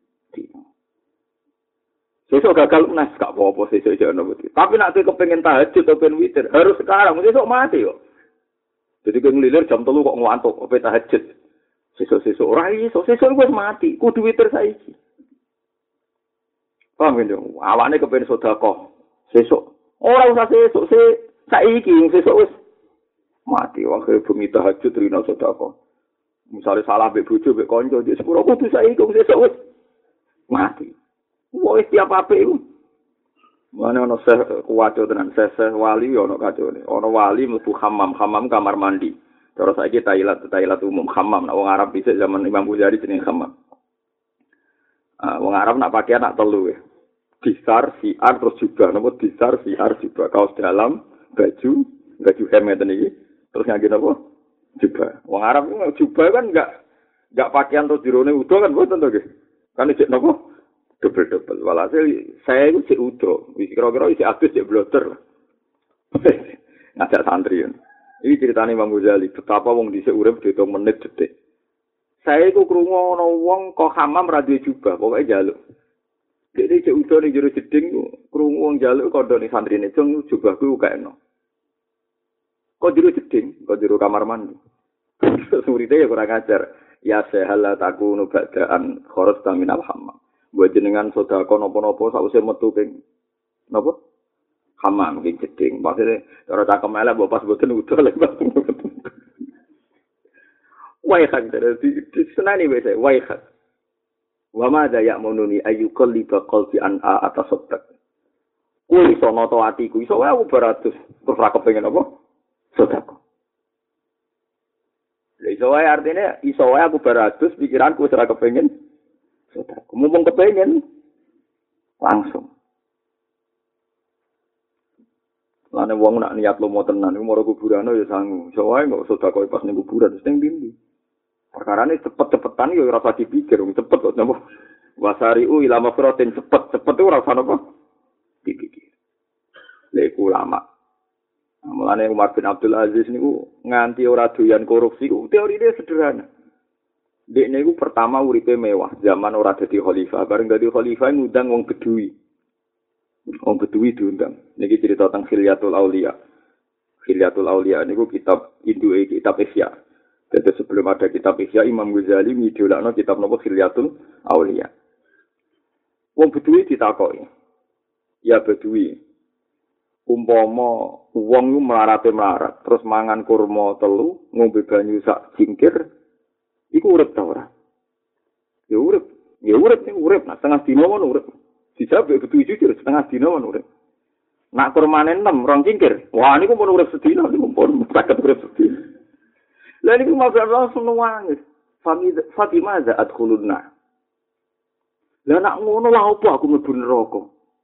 Sesuk gagal nas gak apa-apa sesuk iki ana wedi. Tapi nek kowe kepengin tahajud atau pengen witir, harus sekarang, sesuk mati kok. Jadi kowe nglilir jam 3 kok ngantuk, opo tahajud. Sesuk ora iso, sesuk wis mati, kudu witir saiki. Paham kan dong? Awakne kepen sedekah. Sesuk. Ora usah sesuk, saiki sesuk wis mati. Wae bumi tahajud rino sedekah. Misale salah mbek bojo mbek kanca, dia sepuro kudu saiki sesuk wis mati. Wis tiap apik iku. Mana ono kuwaco tenan seseh wali ono kacone. Ono wali mlebu hammam kamar mandi. Terus saiki Thailand umum hammam. Nek wong Arab dhisik zaman Imam Ghazali jenenge hammam. Wong Arab nak pakaian nak telu ya. Disar, siar, terus jubah. Napa disar, siar, jubah. Kaos dalam, baju hem ngeten iki. Terus ngangge napa? Jubah. Wong Arab jubah kan enggak pakaian terus dirone udo kan mboten to nggih. Kan cek napa? Double. Walhasil saya itu cek udo. Wis kira-kira isi adus cek bloter. Ngajak santri. Ini ceritane Imam Ghazali, betapa wong dhisik urip diitung menit detik. Saya iku krungu ana wong kok hamam ra duwe jubah, pokoke njaluk. Dene cek udo ning jero jeding krungu wong njaluk kandhane santrine, "Jeng jubahku ukekno." Kok jero jeding, kok jero kamar mandi. Muridé ya kurang ajar. Ya sehala takunu ba'daan kharas minal hammam. Buat jenengan sedekah napa-napa sawise metu ping napa? Hammam ing jeding. Maksudnya cara cangkem elek mbok pas boten udo lek. Waihat dari senani wese waihat. Wa ma da ya'mununi ayyuqalliba qalbi an atas sedek. Kuwi iso nata atiku, iso wae aku beratus terus ra kepengin apa? Sedekah. Lha iso wae artine iso wae aku beratus pikiranku ora kepengin sedekah. Mumpung kepengin langsung. Lane wong nak niat lomo tenan iku maro kuburan ya sangu. Iso wae kok sedekah pas ning kuburan wis ning ndi. Perkarane cepet-cepetan yo ora usah dipikir, cepet kok napa. Wasari'u ila mafratin cepet ora usah napa dipikir. Lek ulama. Mulane Umar bin Abdul Aziz niku nganti ora doyan korupsi ku teorine sederhana. Dekne niku pertama uripe mewah, zaman ora dadi khalifah, bareng dadi khalifah ngundang wong Bedui. Wong Bedui diundang. Niki cerita tentang Khilyatul Auliya. Khilyatul Auliya niku kitab induke kitab Ihya. Jadi sebelum ada kitab Ihya, Imam Ghazali ngidolakno kitab napa Khilyatul Auliya. Wong Bedui ditakoki. Ya Bedui. Umpama wong ku melarat, terus mangan kurma telu, ngombe banyu sak cingkir, iku urip ta ora? Ya urip. Ya urip, nah setengah dina mon urip. Dijawab betul jujur setengah dina mon urip. Nak kurmane 6 rong cingkir. Wah niku pun urip sedina niku pun saged urip sedina. Lah niku mau langsung nangis. Fatimah za adkhulunna. Lah nak ngono lah apa aku mlebu neraka.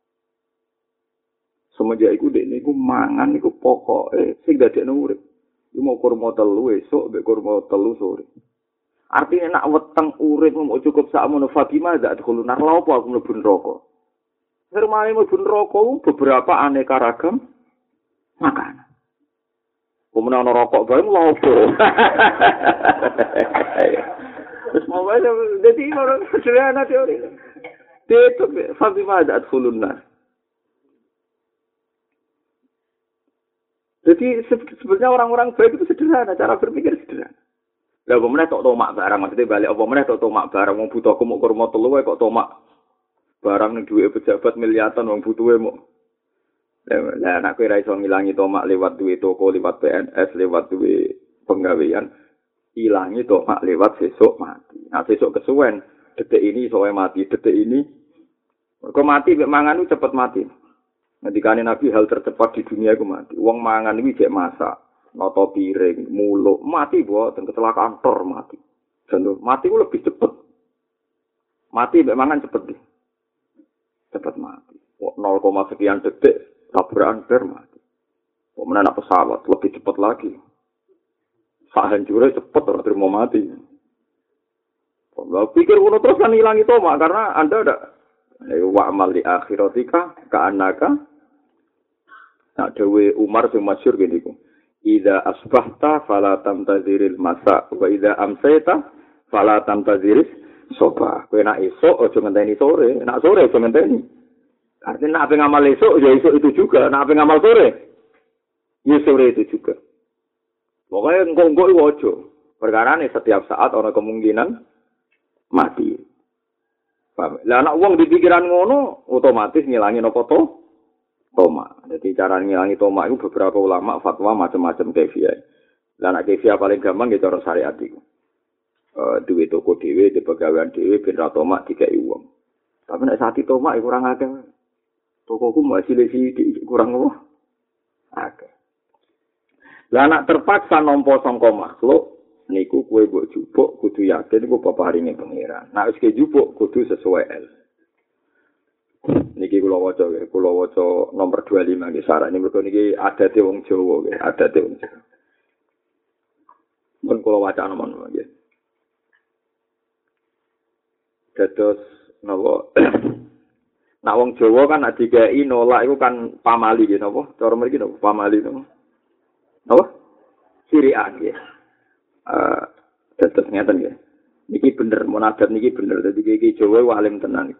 Semenjak iku dekne iku mangan iku pokoke sing dadekno urip. Iku mau kurma telu esuk mbek kurma telu sore. Artinya nak weteng urip mau cukup sakmono Fatimah za adkhulunna. Lah apa aku mlebu neraka. Hermane mlebu neraka beberapa aneka ragam makanan. Kemudian ana rokok bae lha opo. Wis mau wae dadi orang sederhana teori. Itu Fatimah ada adkhulunna. Jadi sebenarnya orang-orang baik itu sederhana, cara berpikir sederhana. Lah apa meneh tok tomak barang, maksudnya balik apa meneh tok tomak barang wong butuh kok kurma telu wae kok tomak barang ning duwe pejabat miliatan wong butuhe mok. Lah nek kowe ra iso ngilangi tomak lewat duwe toko, lewat PNS, lewat duwe penggawean, ilangi tomak lewat sesuk mati. Nah sesuk kesuwen, detik ini iso mati, detik ini kok mati mek mangan itu cepet mati. Ngendikane Nabi hal tercepat di dunia iku mati. Wong mangan iki jek masak, nata piring, muluk, mati boten kecelakaan tor mati. Contoh, mati ku lebih cepet. Mati mek mangan cepet deh. Cepet mati. 0, sekian detik tabrakan ber mati. Kok menak pesawat lebih cepet lagi. Sak hancure cepet ora terima mati. Kok pikir ngono terus kan ilang itu mak karena Anda ada wa amal li akhiratika ka'annaka. Nah dewe Umar sing masyhur ngene iku. Idza asbahta fala tamtaziril masa wa idza amsayta fala tamtaziris soba. Kowe nek esuk aja ngenteni sore, nek sore aja ngenteni. Artinya nek ngamal esuk ya esuk itu juga, nek ngamal sore ya sore itu juga. Pokoknya engko-engko iku aja. Perkarane setiap saat ana kemungkinan mati. Lah anak wong di pikiran ngono otomatis ngilangi apa to? Tomak. Jadi cara ngilangi tomak itu beberapa ulama fatwa macam-macam kefiah. Lah anak kefiah paling gampang ya cara syariat iku. Duwe toko dhewe, di pegawaian dhewe ben ra tomak dikeki wong. Tapi nek sati tomak iku kurang akeh. Tokoku masih sithik kurang apa? Akeh. Lah anak terpaksa nampa sangka makhluk niku kowe mbok jupuk kudu yakin iku peparinge pangeran. Nek wis jupuk kudu sesuai el. Niki kula waca nomor 25 nggih sarane mergo niki adate wong Jawa nggih, adate wong Jawa. Mun kula waca nomor nggih. Dados napa Nak wong Jawa kan nek dikai nolak iku kan pamali nggih napa? Cara mriki napa pamali napa? Napa? Sirian nggih. Tetep ngeten ya. Niki bener munajat niki bener dadi iki Jawa alim tenan.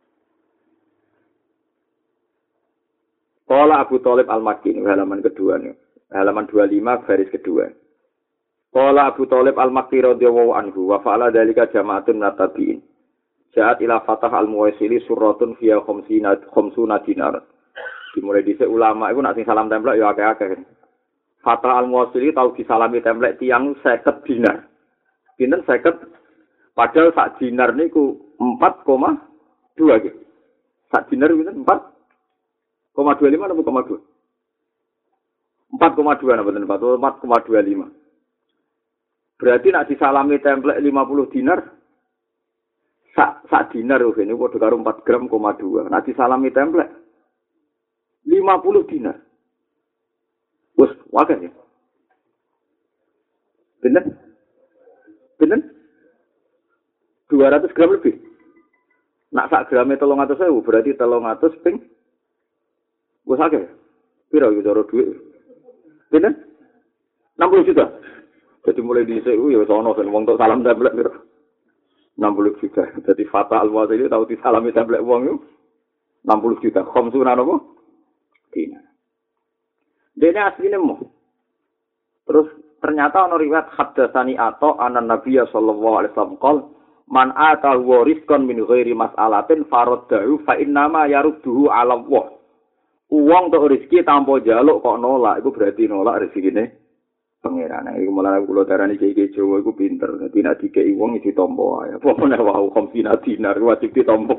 Qala Abu Thalib Al-Makki halaman kedua nih. Halaman 25 baris kedua. Qala Abu Thalib Al-Makki radhiyallahu anhu wa fa'ala dzalika jama'atun natabiin. Ja'at ila Fatah Al-Muwaisili suratun fiha khamsuna dinar. Dimulai dhisik ulama iku nak sing salam templek ya akeh-akeh. Fatah Al-Muwaisili tau disalami templek tiyang 50 dinar. Pinten 50? Padahal sak dinar niku 4,2 nggih. Sak dinar pinten 4,25 atau 4,2? 4,2 napa mboten 4,25. Berarti nak disalami templek 50 dinar sak dinar ini padha karo 4 gram, 2. Nak disalami templek 50 dinar. Wes wae ya. Bener? 200 gram lebih. Nak sak grame 300.000 berarti 300 ping. Wes akeh. Piro iki cara dhuwit? Bener? 60 juta. Jadi mulai dhisik ya wis ana sing wong tok salam templek piro? 60 juta. Jadi Fatah Al-Muwaisili tau disalami templek wong yo 60 juta. Khamsuna napa? Dinar. Dene asline mo. Terus ternyata ana riwayat haddatsani Atha anan Nabi sallallahu alaihi wasallam qol man atahu rizqan min ghairi mas'alatin faraddahu fa innama yarudduhu 'ala Allah. Wong tok rezeki tanpa njaluk kok nolak iku berarti nolak rezekine pangeran. Iku malah kula darani iki Jawa iku pinter. Dadi nek dikeki wong ditampa ae. Apa meneh wau komsina dinar wajib ditampa.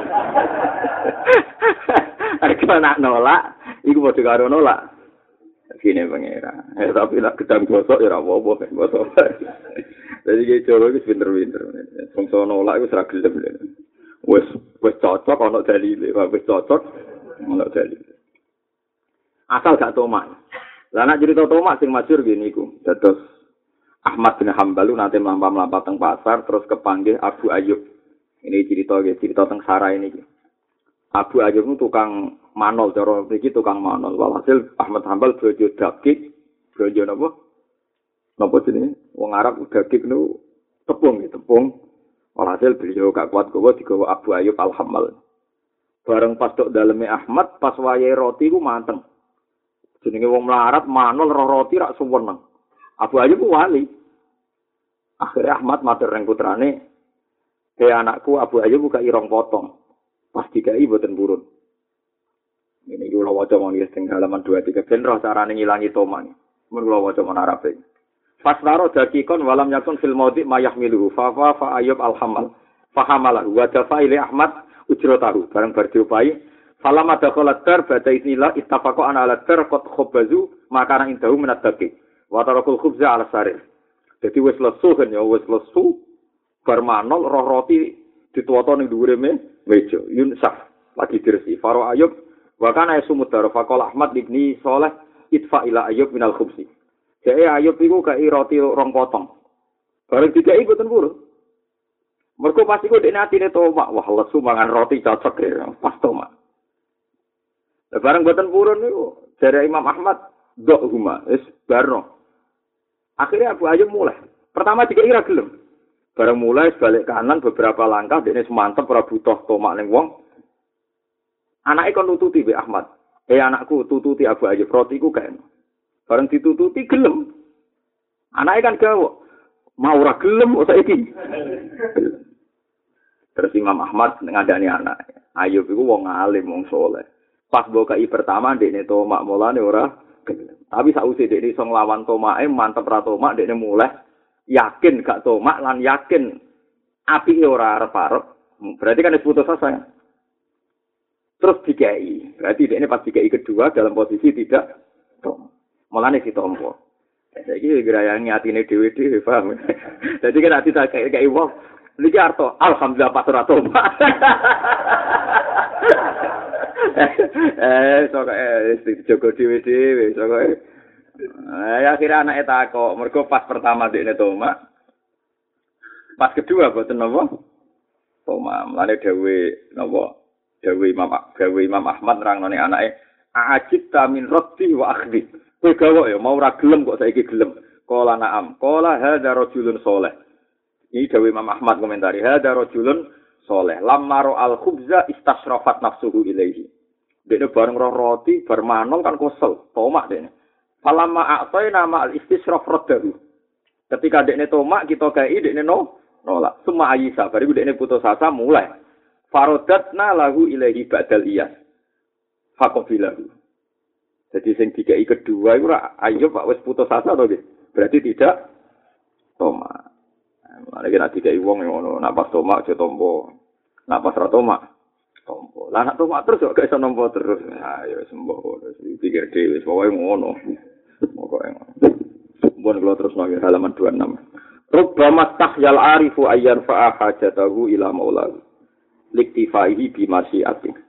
Arek nak nolak, iku padha karo nolak. Gini pangeran. Tapi nek gedang gosok ya ora apa-apa gosok. Dadi iki Jawa iku pinter-pinter. Wong nolak iku ora gelem. Wis cocok ana dalile, wis cocok ana dalile. Asal gak tomak. Lah nek cerita tomak sing masyhur gini iku. Dados Ahmad bin Hambal nanti mlampah-mlampah teng pasar terus kepanggih Abu Ayyub. Ini cerita teng Sarai ini. Abu Ayyub itu tukang manol, cara mriki tukang manol. Walhasil Ahmad Hambal bojo daging, bojo napa? Napa jenenge? Wong Arab daging niku tepung. Walhasil beliau gak kuat gowo digawa Abu Ayyub Al-Hammal. Bareng pas tok daleme Ahmad pas wayahe roti ku manteng. Jenenge wong melarat manol roh roti rak suweneng. Abu Ayyub wali. Akhirnya Ahmad matur ning putrane, "He anakku Abu Ayyub buka irong potong." Pas dikai mboten purun. Ini kula waca mawon teng halaman 23 ben roh carane ngilangi toman. Mun kula waca mon Arabe. Fasnaro dakikon walam yakun fil maudi mayahmiluhu fa Ayyub al-Hammal fahamalahu wa dafa ila Ahmad ujratahu bareng bar diopai falama dakhalat dar ba'da isnillah ittafaqu ana ala dar qad khabazu makana indahu min ad-daqiq wa tarakul khubza ala sarir. Dadi wis lesu kan ya wis lesu bar manol roh roti dituwoto ning dhuwure meja yunsaf lagi dirsi Faro Ayyub wa kana yasumud dar faqala Ahmad ibni Saleh idfa ila Ayyub minal khubzi. Jadi Ayub itu kayak roti rong potong. Barang tiga itu boten purun. Mergo pas iku dekne atine tomak, wah lesu mangan roti cocok ya, pas tomak. Barang boten purun niku jare Imam Ahmad dok huma wis barno. Akhirnya Abu Ayyub mulai. Pertama tiga ira gelem. Barang mulai balik kanan beberapa langkah dekne semantep ora butuh tomak ning wong. Anake kon nututi be Ahmad. Anakku tututi Abu Ayyub rotiku kae. Bareng ditututi gelem. Anake kan gawe. Mau ora gelem kok saiki. Terus Imam Ahmad ngadani anak. Ayub iku wong alim, wong saleh. Pas bokai pertama dekne tomak mulane ora gelem. Tapi sakwise dekne iso nglawan tomake mantep ra tomak dekne mulai yakin gak tomak lan yakin apike ora arep-arep. Berarti kan wis putus asa. Terus dikai. Berarti dekne pas dikai kedua dalam posisi tidak tomak. Mulane ditampa. Saiki gerayange atine dhewe-dhewe paham. Dadi kan ati tak kayak wong niki arto alhamdulillah pas ora tobat. Sok jogo dhewe-dhewe sok. Akhirnya anake takok, mergo pas pertama dekne tomat. Pas kedua boten napa? Tomat. Mulane dawuhe napa? Dawuhe Imam Ahmad rangnone anake ajibta min rabbi wa akhdi. Kowe gawe ya mau ora gelem kok saiki gelem. Qala na'am. Qala hadza rajulun saleh. Ini dawuh Imam Ahmad komentari. Hadza rajulun saleh. Lamma al-khubza istasyrafat nafsuhu ilaihi. Dene bareng roh roti bar manong kan kesel, tomak dene. Falamma a'tayna ma'al istisraf raddahu. Ketika dekne tomak kita gawe dekne nolak. Suma ayisa bariku dekne putus asa mulai. Farodatna lahu ilaihi ba'dal iyas. Faqabilahu. Jadi sing dikai kedua itu Ayub Pak wis putus asa to nggih. Berarti tidak tomak. Mane kena dikai wong ngono, nek pas tomak aja tompo. Nek pas ra tomak tompo. Lah nek tomak terus kok iso nampa terus. Ha ya sembuh. Pikir dhewe wis pokoke ngono. Pokoke ngono. Mun kula terus nang halaman 26. Rubbama tahyal arifu ayyan fa'a hajatahu ila maulahu. Liktifaihi bi masyiati.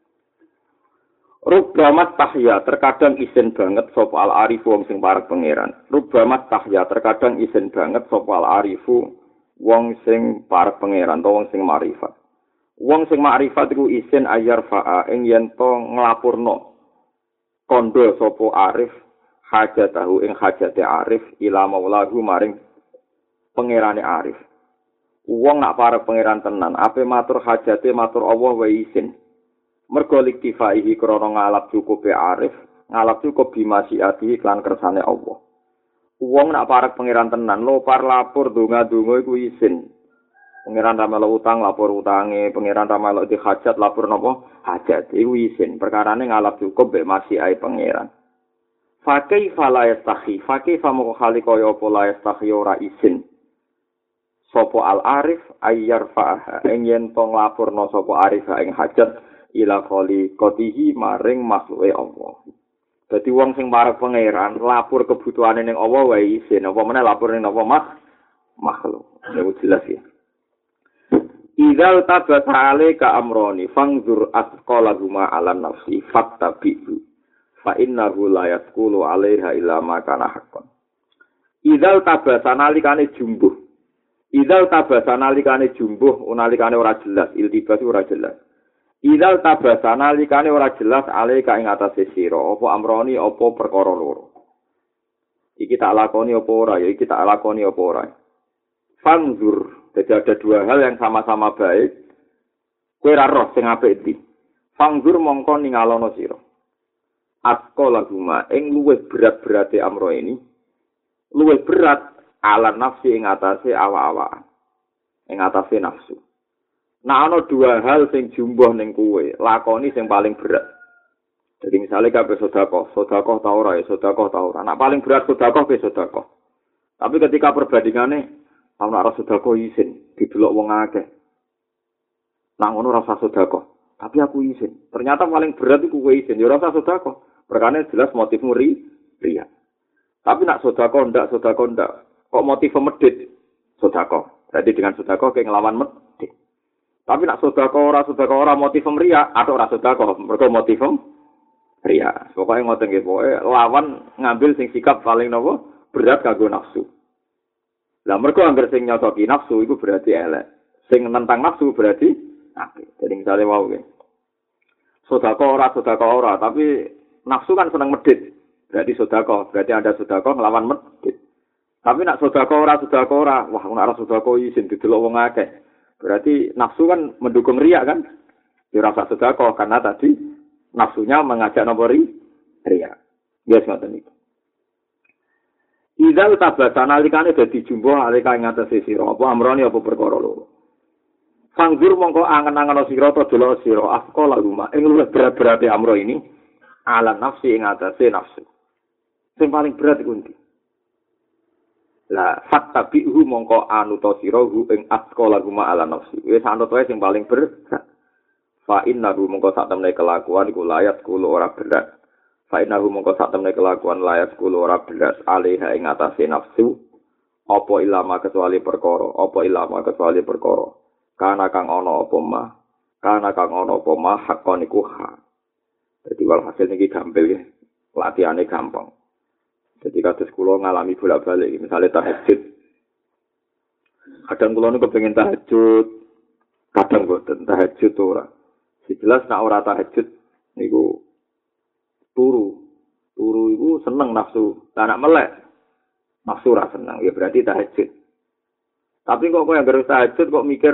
Rubbamat tahya terkadang isin banget sapa al arifu wong sing parek pangeran. Rubbamat tahya terkadang isin banget sapa al arifu wong sing parek pangeran utawa wong sing makrifat. Wong sing makrifat iku isin ayar fa'a ing yen to nglapurno kondo sapa arif hajatahu ing hajate arif ila maulahu maring pangerane arif. Wong nak parek pangeran tenan ape matur hajate matur Allah wae isin. Mergo liktifaihi krana ngalap cukup arif, ngalap cukup bimasiati iklan kersane Allah. Wong nak parek pangeran tenan, lopar lapor donga-donga iku isin. Pangeran ra melok utang lapor utange, pangeran ra melok di hajat lapor napa? Hajat iku isin. Perkarane ngalap cukup mek masiai pangeran. Fakih fala yastahi, fakih famoko khali kaya apa la yastahi ora isin. Sopo al arif ayyar fa'aha ing yen to nglapurna sapa arif ing hajat ila khali qatihi maring makhluke Allah. Dadi wong sing marang pangeran lapor kebutuhane ning Allah wae isin, apa meneh lapor ning apa makhluk. Ya jelas ya. Idzal tabata alaika amroni fangzur asqalahuma ala nafsi fattabi'u fa innahu la yasqulu 'alaiha illa ma kana haqqan. Idzal tabata nalikane jumbuh. Idzal tabata nalikane jumbuh nalikane ora jelas, iltibas ora jelas. Idzal tabata nalikane ora jelas alaika ing atase sira apa amroni apa perkara loro. Iki tak lakoni apa ora ya iki tak lakoni apa ora. Fangzur. Jadi ada dua hal yang sama-sama baik. Kowe ra roh sing apik iki. Fangzur mongko ningalono sira. Atqala guma ing luwih berat-berate amro ini. Luwih berat ala nafsi ing atase awak-awakan. Ing atase nafsu. Nah ana dua hal sing jumbuh ning kowe, lakoni sing paling berat. Jadi misalnya kabeh sedekah ta ora ya sedekah ta ora. Nah paling berat sedekah ke sedekah. Tapi ketika perbandingane ana ora sedekah isin, didelok wong akeh. Nang ngono ora usah sedekah, tapi aku isin. Ternyata paling berat iku kowe isin, ya ora usah sedekah. Perkane jelas motifmu riya. Tapi nak sedekah ndak. Kok motif medhit sedekah. Berarti dengan sedekah ke nglawan medhit. Tapi nak sedekah ora motif riya, atau ora sedekah, mergo motif riya. Pokoke ngoten nggih, pokoke lawan ngambil sing sikap paling napa berat kanggo nafsu. Lah mergo anggere sing nyocoki nafsu iku berarti elek. Sing nentang nafsu berarti apik. Jadi misale wau nggih. Sedekah ora, tapi nafsu kan seneng medhit. Berarti sedekah, berarti ada sedekah nglawan medhit. Tapi nak sedekah ora, wah nek ora sedekah isin didelok wong akeh. Berarti nafsu kan mendukung riya kan? Ya ora usah sedekah karena tadi nafsunya mengajak napa riya. Yes ngoten iki. Idzal tabata nalikane dadi jumbo nalika ing atase sira apa amrone apa perkara loro. Sanggur mongko angen-angen sira to delok sira afqala rumah ing luwih berat-berate amro ini ala nafsi ing atase nafsu. Sing paling berat iku ndi? Lah fattabi'hu mongko anuta sira hu ing afqala rumah ala nafsi. Wis anut wae sing paling berat. Fa innahu mongko sak temne kelakuan iku layat kulo ora berat. Fainahu mongko sak temne kelakuan layak kulo ora belas alaiha ing atase nafsu apa ilama kecuali perkara kana kang ana apa mah hakon iku hak. Dadi walhasil niki gampil ya latihane gampang. Jadi kados kula ngalami bolak-balik misale tahajud. Kadang kula niku kepengin tahajud, kadang boten tahajud ora. Jelas nek ora tahajud niku turu iku seneng nafsu, tak nak melek. Nafsu ra seneng, ya berarti tahajud. Tapi kok yang harus tahajud kok mikir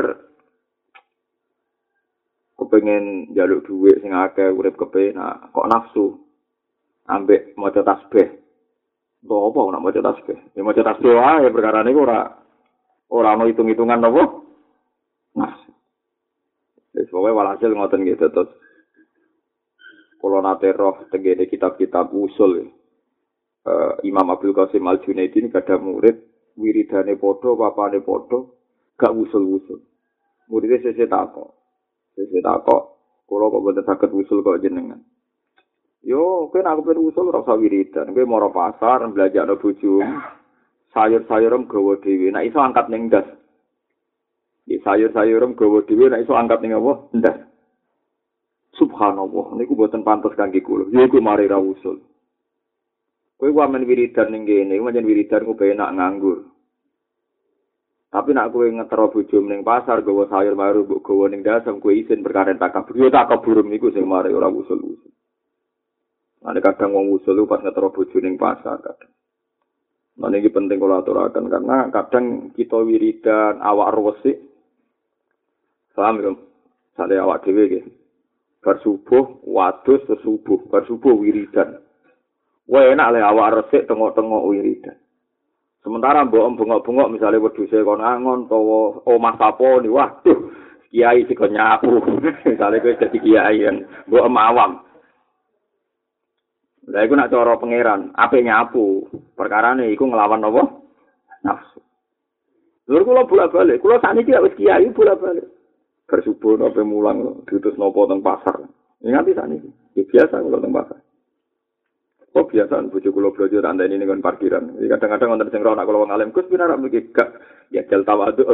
kepengin njaluk dhuwit sing akeh urip kepenak, kok nafsu. Ambek maca tasbih. Kok apa nak maca tasbih? Ya maca tasbih wae perkara niku ora ono hitung-hitungan apa? Nafsu. Wis pokoke walhasil ngoten nggih terus. Kalau nate roh tenggene kitab-kitab usul Imam Abdul Qasim Al-Junaidi ini ada murid wiridane podo, papane podo, gak usul-usul. Muridnya sesi takok, kalau kok boten saged usul kok jenengan. Yo, kowe nek pengen usul ora usah wiridan, kowe mara pasar belajakno bojomu. Sayur-sayuram gawa dhewe, nek iso angkat ning ndas. Di sayur-sayuram gawa dhewe, nek iso angkat ning apa? Ndas. Subhanallah, niku boten pantes kangge kula. Ya iku mari ra usul. Kowe wamen wiridan ning kene, pancen wiridan ku penak nganggur. Tapi nek kowe ngetero bojomu ning pasar gawa sayur baru mbok gawa ning dasem kowe isin perkara takabur. Yo takabur niku sing mari ora usul-usul. Ane kadang wong usul pas ngetero bojo ning pasar kadang. Nah ini penting kula aturaken karena kadang kita wiridan awak resik. Paham ya? Sale awak dhewe nggih. Bar subuh wadus subuh, bar subuh wiridan. Wae enak le awak resik tengok-tengok wiridan. Sementara mbok bengok-bengok misalnya wedhuse kon angon utawa omah sapo ni waduh kiai sik nyapu. Misale kowe dadi kiai yang mbok awam. Lah iku nak cara pangeran, ape nyapu. Perkarane iku nglawan apa? Nafsu. Lur kula bolak-balik, kula sakniki wis kiai bolak-balik. Bersubuh nopo mulang diutus nopo teng pasar. Ingati sakniki. Ya biasa kula teng pasar. Kok biasa bojo kula blojo tak andani ning parkiran. Jadi kadang-kadang wonten sing ora kula wong alim Gus pinara mriki gak ya jel tawadhu.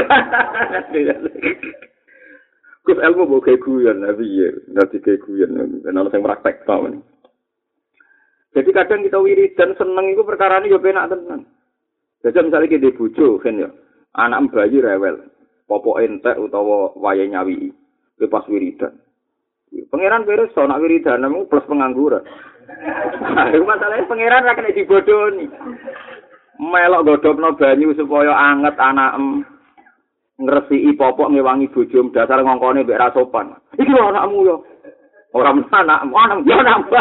Gus ilmu mbok keguyon piye? Dadi keguyon ana sing praktek tawon. Jadi kadang kita wiridan seneng iku perkarane yo penak tenan. Jadi misalnya kita bojo kan ya, anak bayi rewel, popok entek utawa wayahe nyawi, pas wiridan. Pangeran beres so nak wiridan nemu plus pengangguran. Iku masalahnya pangeran ra kena dibodoni. Melok godhogno banyu supaya anget anakem. Ngresiki popok ngewangi bojom dasar ngongkone mbek ra sopan. Iki lho anakmu yo. Ora anakmu, anakmu yo nambah.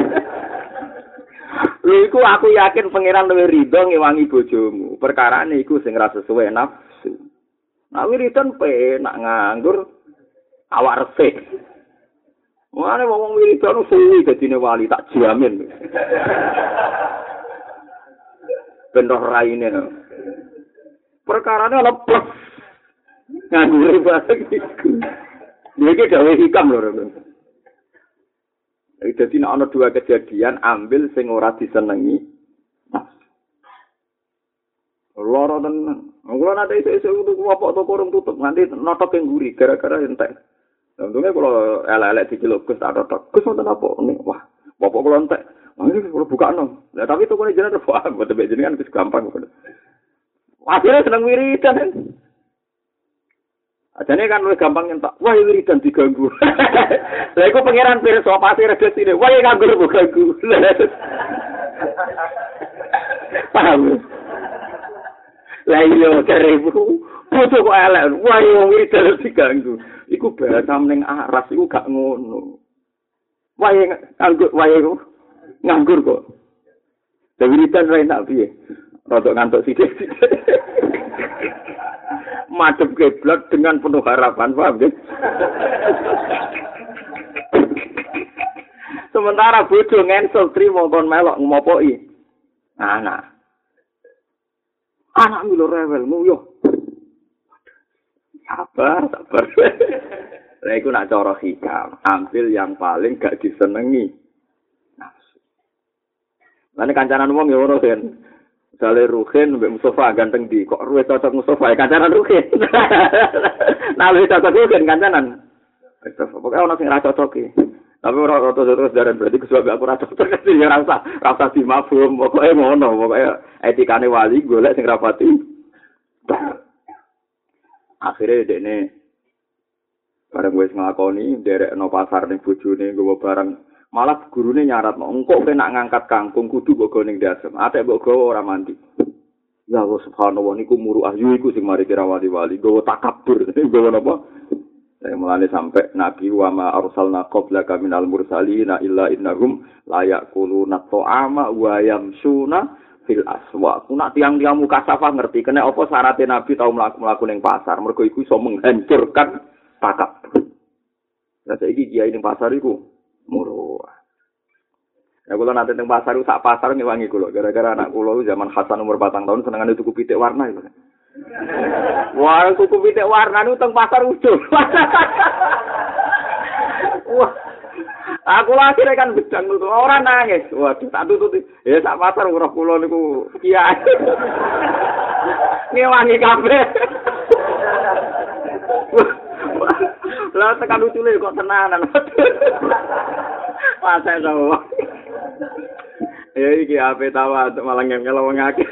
Lha iku aku yakin pangeran luwih rido ngewangi bojomu. Perkarane iku sing ra sesuai nafsu. Nah wiridan penak nganggur awak resik. Mane wong wiridan suwi dadine wali tak jamin. Bendoh raine. Perkarane lepas. Nganggur banget iku. Iki dawuh hikam lho. Jadi ana dua kejadian ambil sing ora disenengi. Loro tenan. Kula nate isih tuku apa toko urung tutup nganti notok ing nguri gara-gara entek. Untungnya kalau elek-elek diceluk Gus tak notok. Gus wonten apa? Wah, bapak kula entek. Ini kula bukakno. Lah tapi tokone jenengan wah mboten jenengan wis gampang. Akhirnya seneng wiridan. Ajane kan luwih gampang nyentak. Wah, wiridan diganggu. Lah iku pangeran pirsa pasti redesine. Wah, nganggur kok ganggu. Paham. Lah iya cerebu. Foto kok elek. Wah, wiridan diganggu. Iku bahasa ning aras iku gak ngono. Wah, nganggur, nganggur kok. Lah wiridan ra enak piye? Rodok ngantuk sithik. Madhep kiblat dengan penuh harapan, paham ya? Sementara bojo ngensel trimo kon melok ngopoki. Anak milo rewel nguyuh. Sabar. Lah iku nak cara hikam, ambil yang paling gak disenengi. Nafsu. Lah nek kancanan wong ya ngono kan. Sale Ruhin mbek Mustafa ganteng di kok ruwe cocok Mustafa kancanan Ruhin. Nah luwih cocok Ruhin kancanan. Pokoke ana sing ra cocok iki. Tapi ora terus daran berarti kesuwe aku ra cocok ya rasa dimafhum pokoke ngono pokoke etikane wali golek sing rapati. Akhire dekne bareng wis nglakoni nderekno pasar ning bojone nggawa barang malah gurune nyarat engko nak ngangkat kangkung kudu mbok go ning dasem atek mbok gawa ora mandi ya Allah subhanallah niku muruah yu iku sing mari kira wali-wali gawa takabur gawa napa mulane sampai nabi wa ma arsalna qablaka minal mursalina illa innahum la yaquluna ta'ama wa yamsuna fil aswaq nak tiang-tiang mukasafah ngerti kene apa syaraté nabi tau mlaku ning pasar mergo iku iso menghancurkan takabur. Lah saiki kiai ning pasar iku murah. Ya kula nate teng pasar sak pasar ngewangi kula gara-gara anak kula zaman Hasan umur 4 tahun senengane tuku pitik warna itu. Wah, tuku pitik warna niku teng pasar ujung. Wah. Aku lagi kan bedang tuh ora nangis. Waduh tak tututi. Ya sak pasar urip kula niku kiai. Ngewangi kabeh. Lah tekan lucune kok tenanan. Pasal to. Ya iki ape tawa malah ngel wong akeh.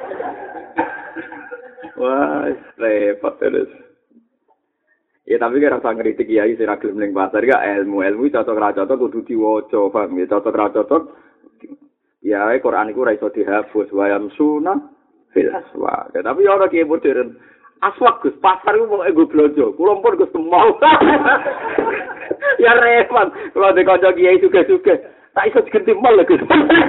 Wah, repot terus. Ya tapi kira rasa ngritik kiai sing ra gelem ning pasar ya ilmu cocok ra cocok kudu diwaca, paham ya cocok ra cocok. Ya Quran iku ra iso dihapus wayam sunah fil aswa. Tapi ora kiai modern. Aswak Gus, pasar iku pokoke go blojo. Kula pun Gus mau. Ya repot. Kalau di kanca kiai suge-suge, tak iso digenti mal Gus.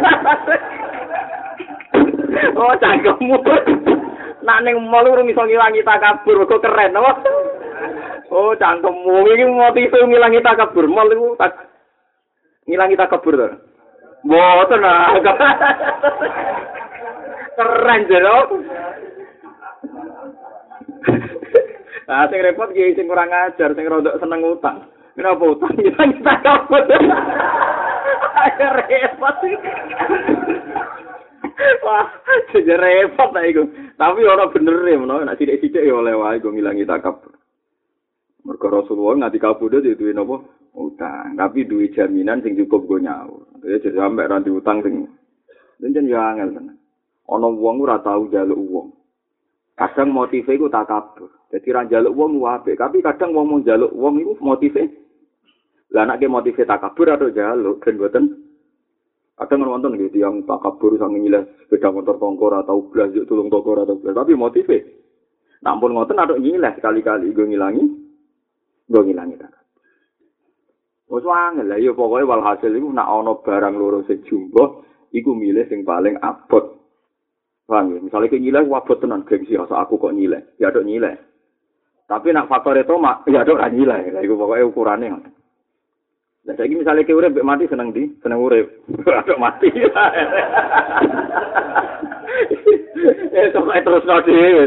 Oh, cangkemmu. Nak ning mal urung iso ngilangi takabur, kok keren apa? Oh, cangkemmu iki motif ngilangi takabur. Mal iku ngilangi takabur to. Mboten lah. Keren jero. Ah sing repot ki sing kurang ajar, sing rodok seneng utang. Kenapa utang kita kabut. Ayo repot. Wah, jadi repot lah iku. Tapi ora bener e menawa nek sithik-sithik ya oleh wae go ngilangi takabur. Mergo Rasulullah nganti kabudut itu duwe napa? Utang. Tapi duwe jaminan sing cukup go nyaur. Ya sampe ra diutang sing jan ya angel tenan. Ana wong ora tau njaluk wong. Kadang motive iku takabur. Dadi ra njaluk wong apik, tapi kadang wong mau njaluk wong iku motive. Lah nek motive takabur atau njaluk ben mboten kadang wonten nggih tiyang takabur sang nyilas sepeda motor tongkor atau blas tulung tongkor atau blas tapi motive. Nampun ngoten atuk nyilas sekali-kali go ngilangi takabur. Wes wangel lah ya pokoke walhasil iku nek ana barang loro sing jumbo iku milih sing paling abot. Paham ya? Misale ki nyileh abot tenan gengsi asa aku kok nyileh. Ya atuk nyileh. Tapi nek faktor itu ya atuk ra nyileh. Lah iku pokoke ukurane ngono. Lah saiki misale ki urip mati seneng ndi? Seneng urip. Atuk mati. Pokoke terus dhewe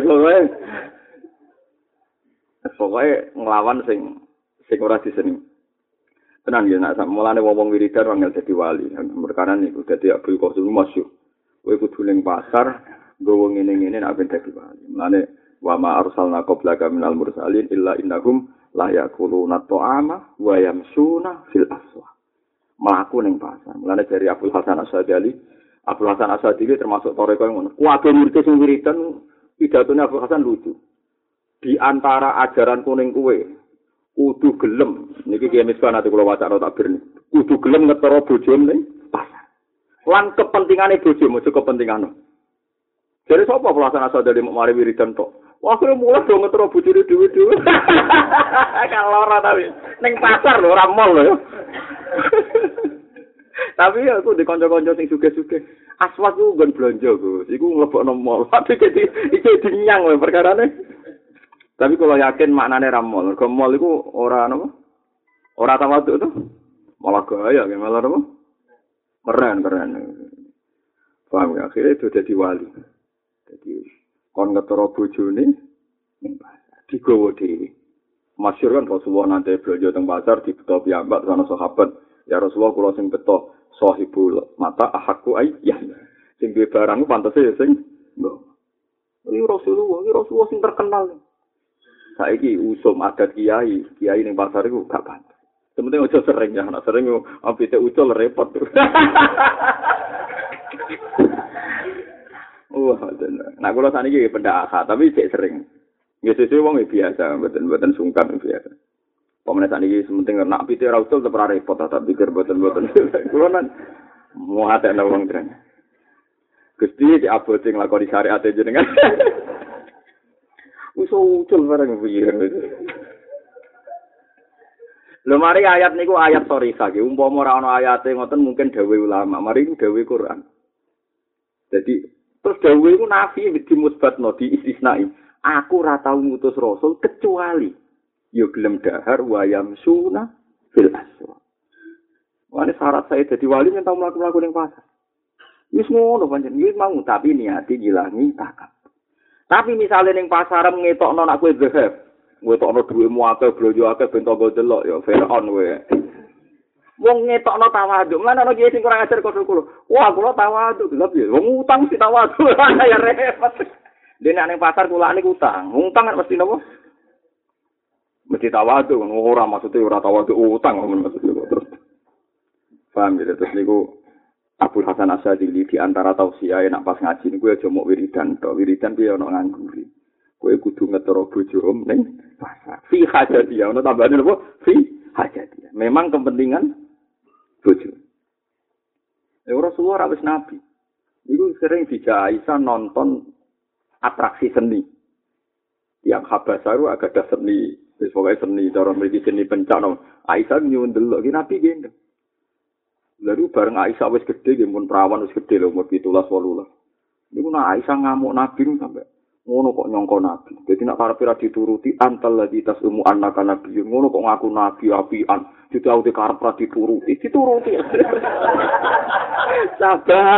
pokoke nglawan sing ora diseneng. Tenan ya nek mulane wong wiridan wangel dadi wali. Perkara niku dadi Abdul Qasim masyhur. Kowe kudu ning pasar nggowo ngene-ngene nek ben dadi wali. Mulane wa ma arsalna qablaka minal mursalin illa innahum la yaquluna ta'ama wa yamsuna fil aswaq. Mlaku ning pasar. Mulane dari Abdul Hasan Asy'adili, Abdul Hasan Asy'adili termasuk toreko ngono. Kuwabe murid sing wiridan pidatone Abdul Hasan lucu. Di antara ajaran kuning kuwe kudu gelem niki ki misbah ate kula wacana takbir niki kudu gelem ngetara bojone ning pasar lan kepentingane bojo mojo kepentingane jare sapa pelaksana sadari mari wiridan tok wah kira mulai do ngetara bojone dhewe-dhewe kalau ora tapi ning pasar lho ora mall lho tapi aku di kanca-kanca sing sugih-sugih aswat ku nggon blonjo Gus iku mlebokno mall tapi iki dinyang wae perkarane. Tapi kalau yakin maknane ramol, mergo mall iku ora napa? Ora tawaduk to. Malah gaya malah napa? Keren. Paham ya, akhirnya itu jadi wali. Jadi kon ngetara bojone ning pasar digowo dhewe. Masyhur kan Rasulullah nanti belanja teng pasar dibeto piyambak sana sahabat. Ya Rasulullah kula sing beto sahibul mata ahakku ya. Sing duwe barang pantese ya sing mbok. Iki Rasulullah sing terkenal. Saiki usum adat kiai ning pasar iku gak pantes. Sementing aja sering ya, nek sering ambite ucul repot. Wah, nah kula saniki pendak tapi cek sering. Ya sesuk wong biasa, mboten sungkan biasa. Pemene saniki sementing nek pite ora ucul tetep ora repot, tak pikir mboten. Kula nan mau ate wong keren. Gusti di abote nglakoni syariat jenengan. Usul barang piye. Lho mari ayat niku ayat sorika iki. Umpama ora ana ayate ngoten mungkin dawuh ulama. Mari iku dawuh Quran. Jadi terus dawuh iku nafi dimusbatno diistisnai. Aku ora tau ngutus rasul kecuali yo gelem dahar wayam suna fil aswa. Wani syarat saya dadi wali yen tau mlaku-mlaku ning pasar. Wis ngono pancen iki mau tapi niati ngilangi takab. Tapi misalnya ning pasar ngetokno nak kowe zahab, ngetokno dhuwitmu akeh, blonjo akeh ben tanggo delok ya Firaun kowe. Wong ngetokno tawaduk, lan ana kiye sing kurang ajar kok kulo. Wah, kula tawaduk, lha piye? Wong utang si tawaduk ya repot. Dene ning pasar kulane utang. Utang kan mesti napa? Mesti tawaduk, ora maksudnya ora tawaduk utang maksudnya terus. Paham ya terus niku Abdul Hasan Asy'adili di antara tausiah nak pas ngaji niku aja mok wiridan tok. Wiridan piye ana ngangguri. Kowe kudu ngetara bojo ning pasar. Fi hajatiyah ono tambahane apa? Fi hajatiyah. Memang kepentingan bojo. Rasulullah wis nabi. Iku sering dijak Aisyah nonton atraksi seni. Yang Habasaru agak ada seni, wis pokoke seni cara mriki seni pencak. Aisyah nyuwun delok ki nabi gendeng. Lalu bareng Aisyah wis gedhe nggih mun perawan wis gedhe lho umur 17 18. Niku nak Aisyah ngamuk Nabi sampai Ngono kok nyongko nabi. Jadi nak karepe ra dituruti antal ladzi tasumu annaka nabi. Ngono kok ngaku nabi apian. Ditauti karep ra dituruti. Sabar.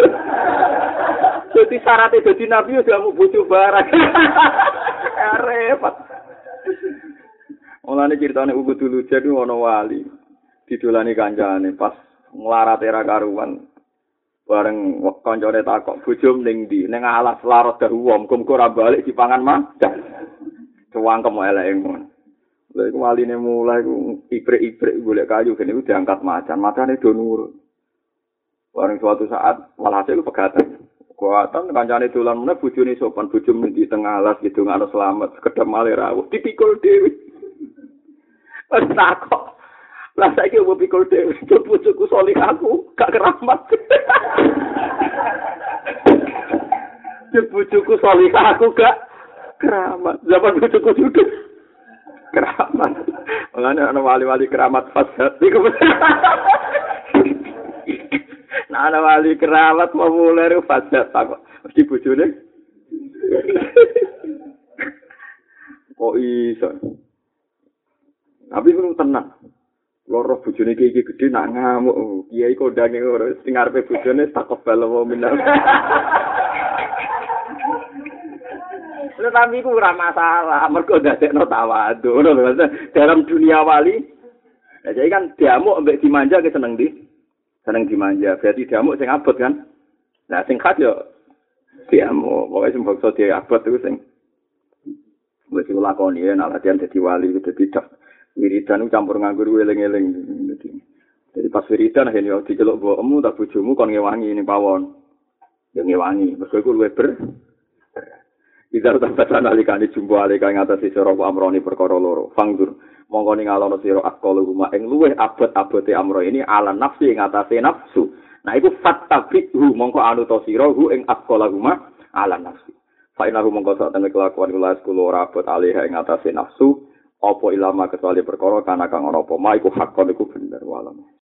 Jadi syaratnya jadi nabi udah mau bojo barang. Repot. Mulane critane ugu dulu jadi ono wali. Didolani kancane pas nglarat era karuan. Bareng kancane takok bojo ning ndi? Ning alas larot dahuwom, muga ora balik dipangan madan. Cuwangkem eleke ngono. Lha iku waline mulai iku ibrik-ibrik golek kayu kene iku diangkat macan, macane do nurut. Bareng suatu saat walhasil pegatan. Kuatan kancane dolan meneh bojone sopan bojone di tengah alas gitu ngono selamat sekedap male rawuh dipikul dhewe. Pas takok. Lah saiki opo pikul dhewe bojoku solih aku gak keramat. Bojoku solih aku gak keramat. Zaman bojoku juga keramat. Mulane ana wali-wali keramat fasad iku. Nah, ana wali keramat mau mulai fasad tak mesti bojone. Kok iso? Tapi ku tenang. Loro bojone iki gedhe nak ngamuk. Kiai kondange ora sing arepe bojone takobal wa minna. Tapi ku ora masalah, mergo dadekno tawadhu. Ngono lho, dalam dunia wali. Nah, jadi kan diamuk mbek dimanja ke seneng ndi? Seneng dimanja. Berarti diamuk sing abot kan? Nah, sing khas yo diamuk. Pokoke sing bangsa diabot iku sing wis lakoni nek latihan dadi wali dadi dak. Wiridan campur nganggur eling-eling. Jadi pas wiridan akhirnya diceluk mbokmu tak bojomu kon ngewangi ning pawon. Ya ngewangi, mergo iku luwih ber. Idar tabasan alikane jumbo alika ing atase sira amrone perkara loro. Fangdur mongko ningalono sira akal rumah ing luwih abot-abote amro ini ala nafsi ing atase nafsu. Nah iku fattabihu mongko anuta sira hu ing akal rumah ala nafsi. Fa inahu mongko sak temene kelakuan kula sekolah ora abot alih ing atase nafsu. Apa ilama kecuali perkara kana kang ana apa ma iku hakon iku bener walam.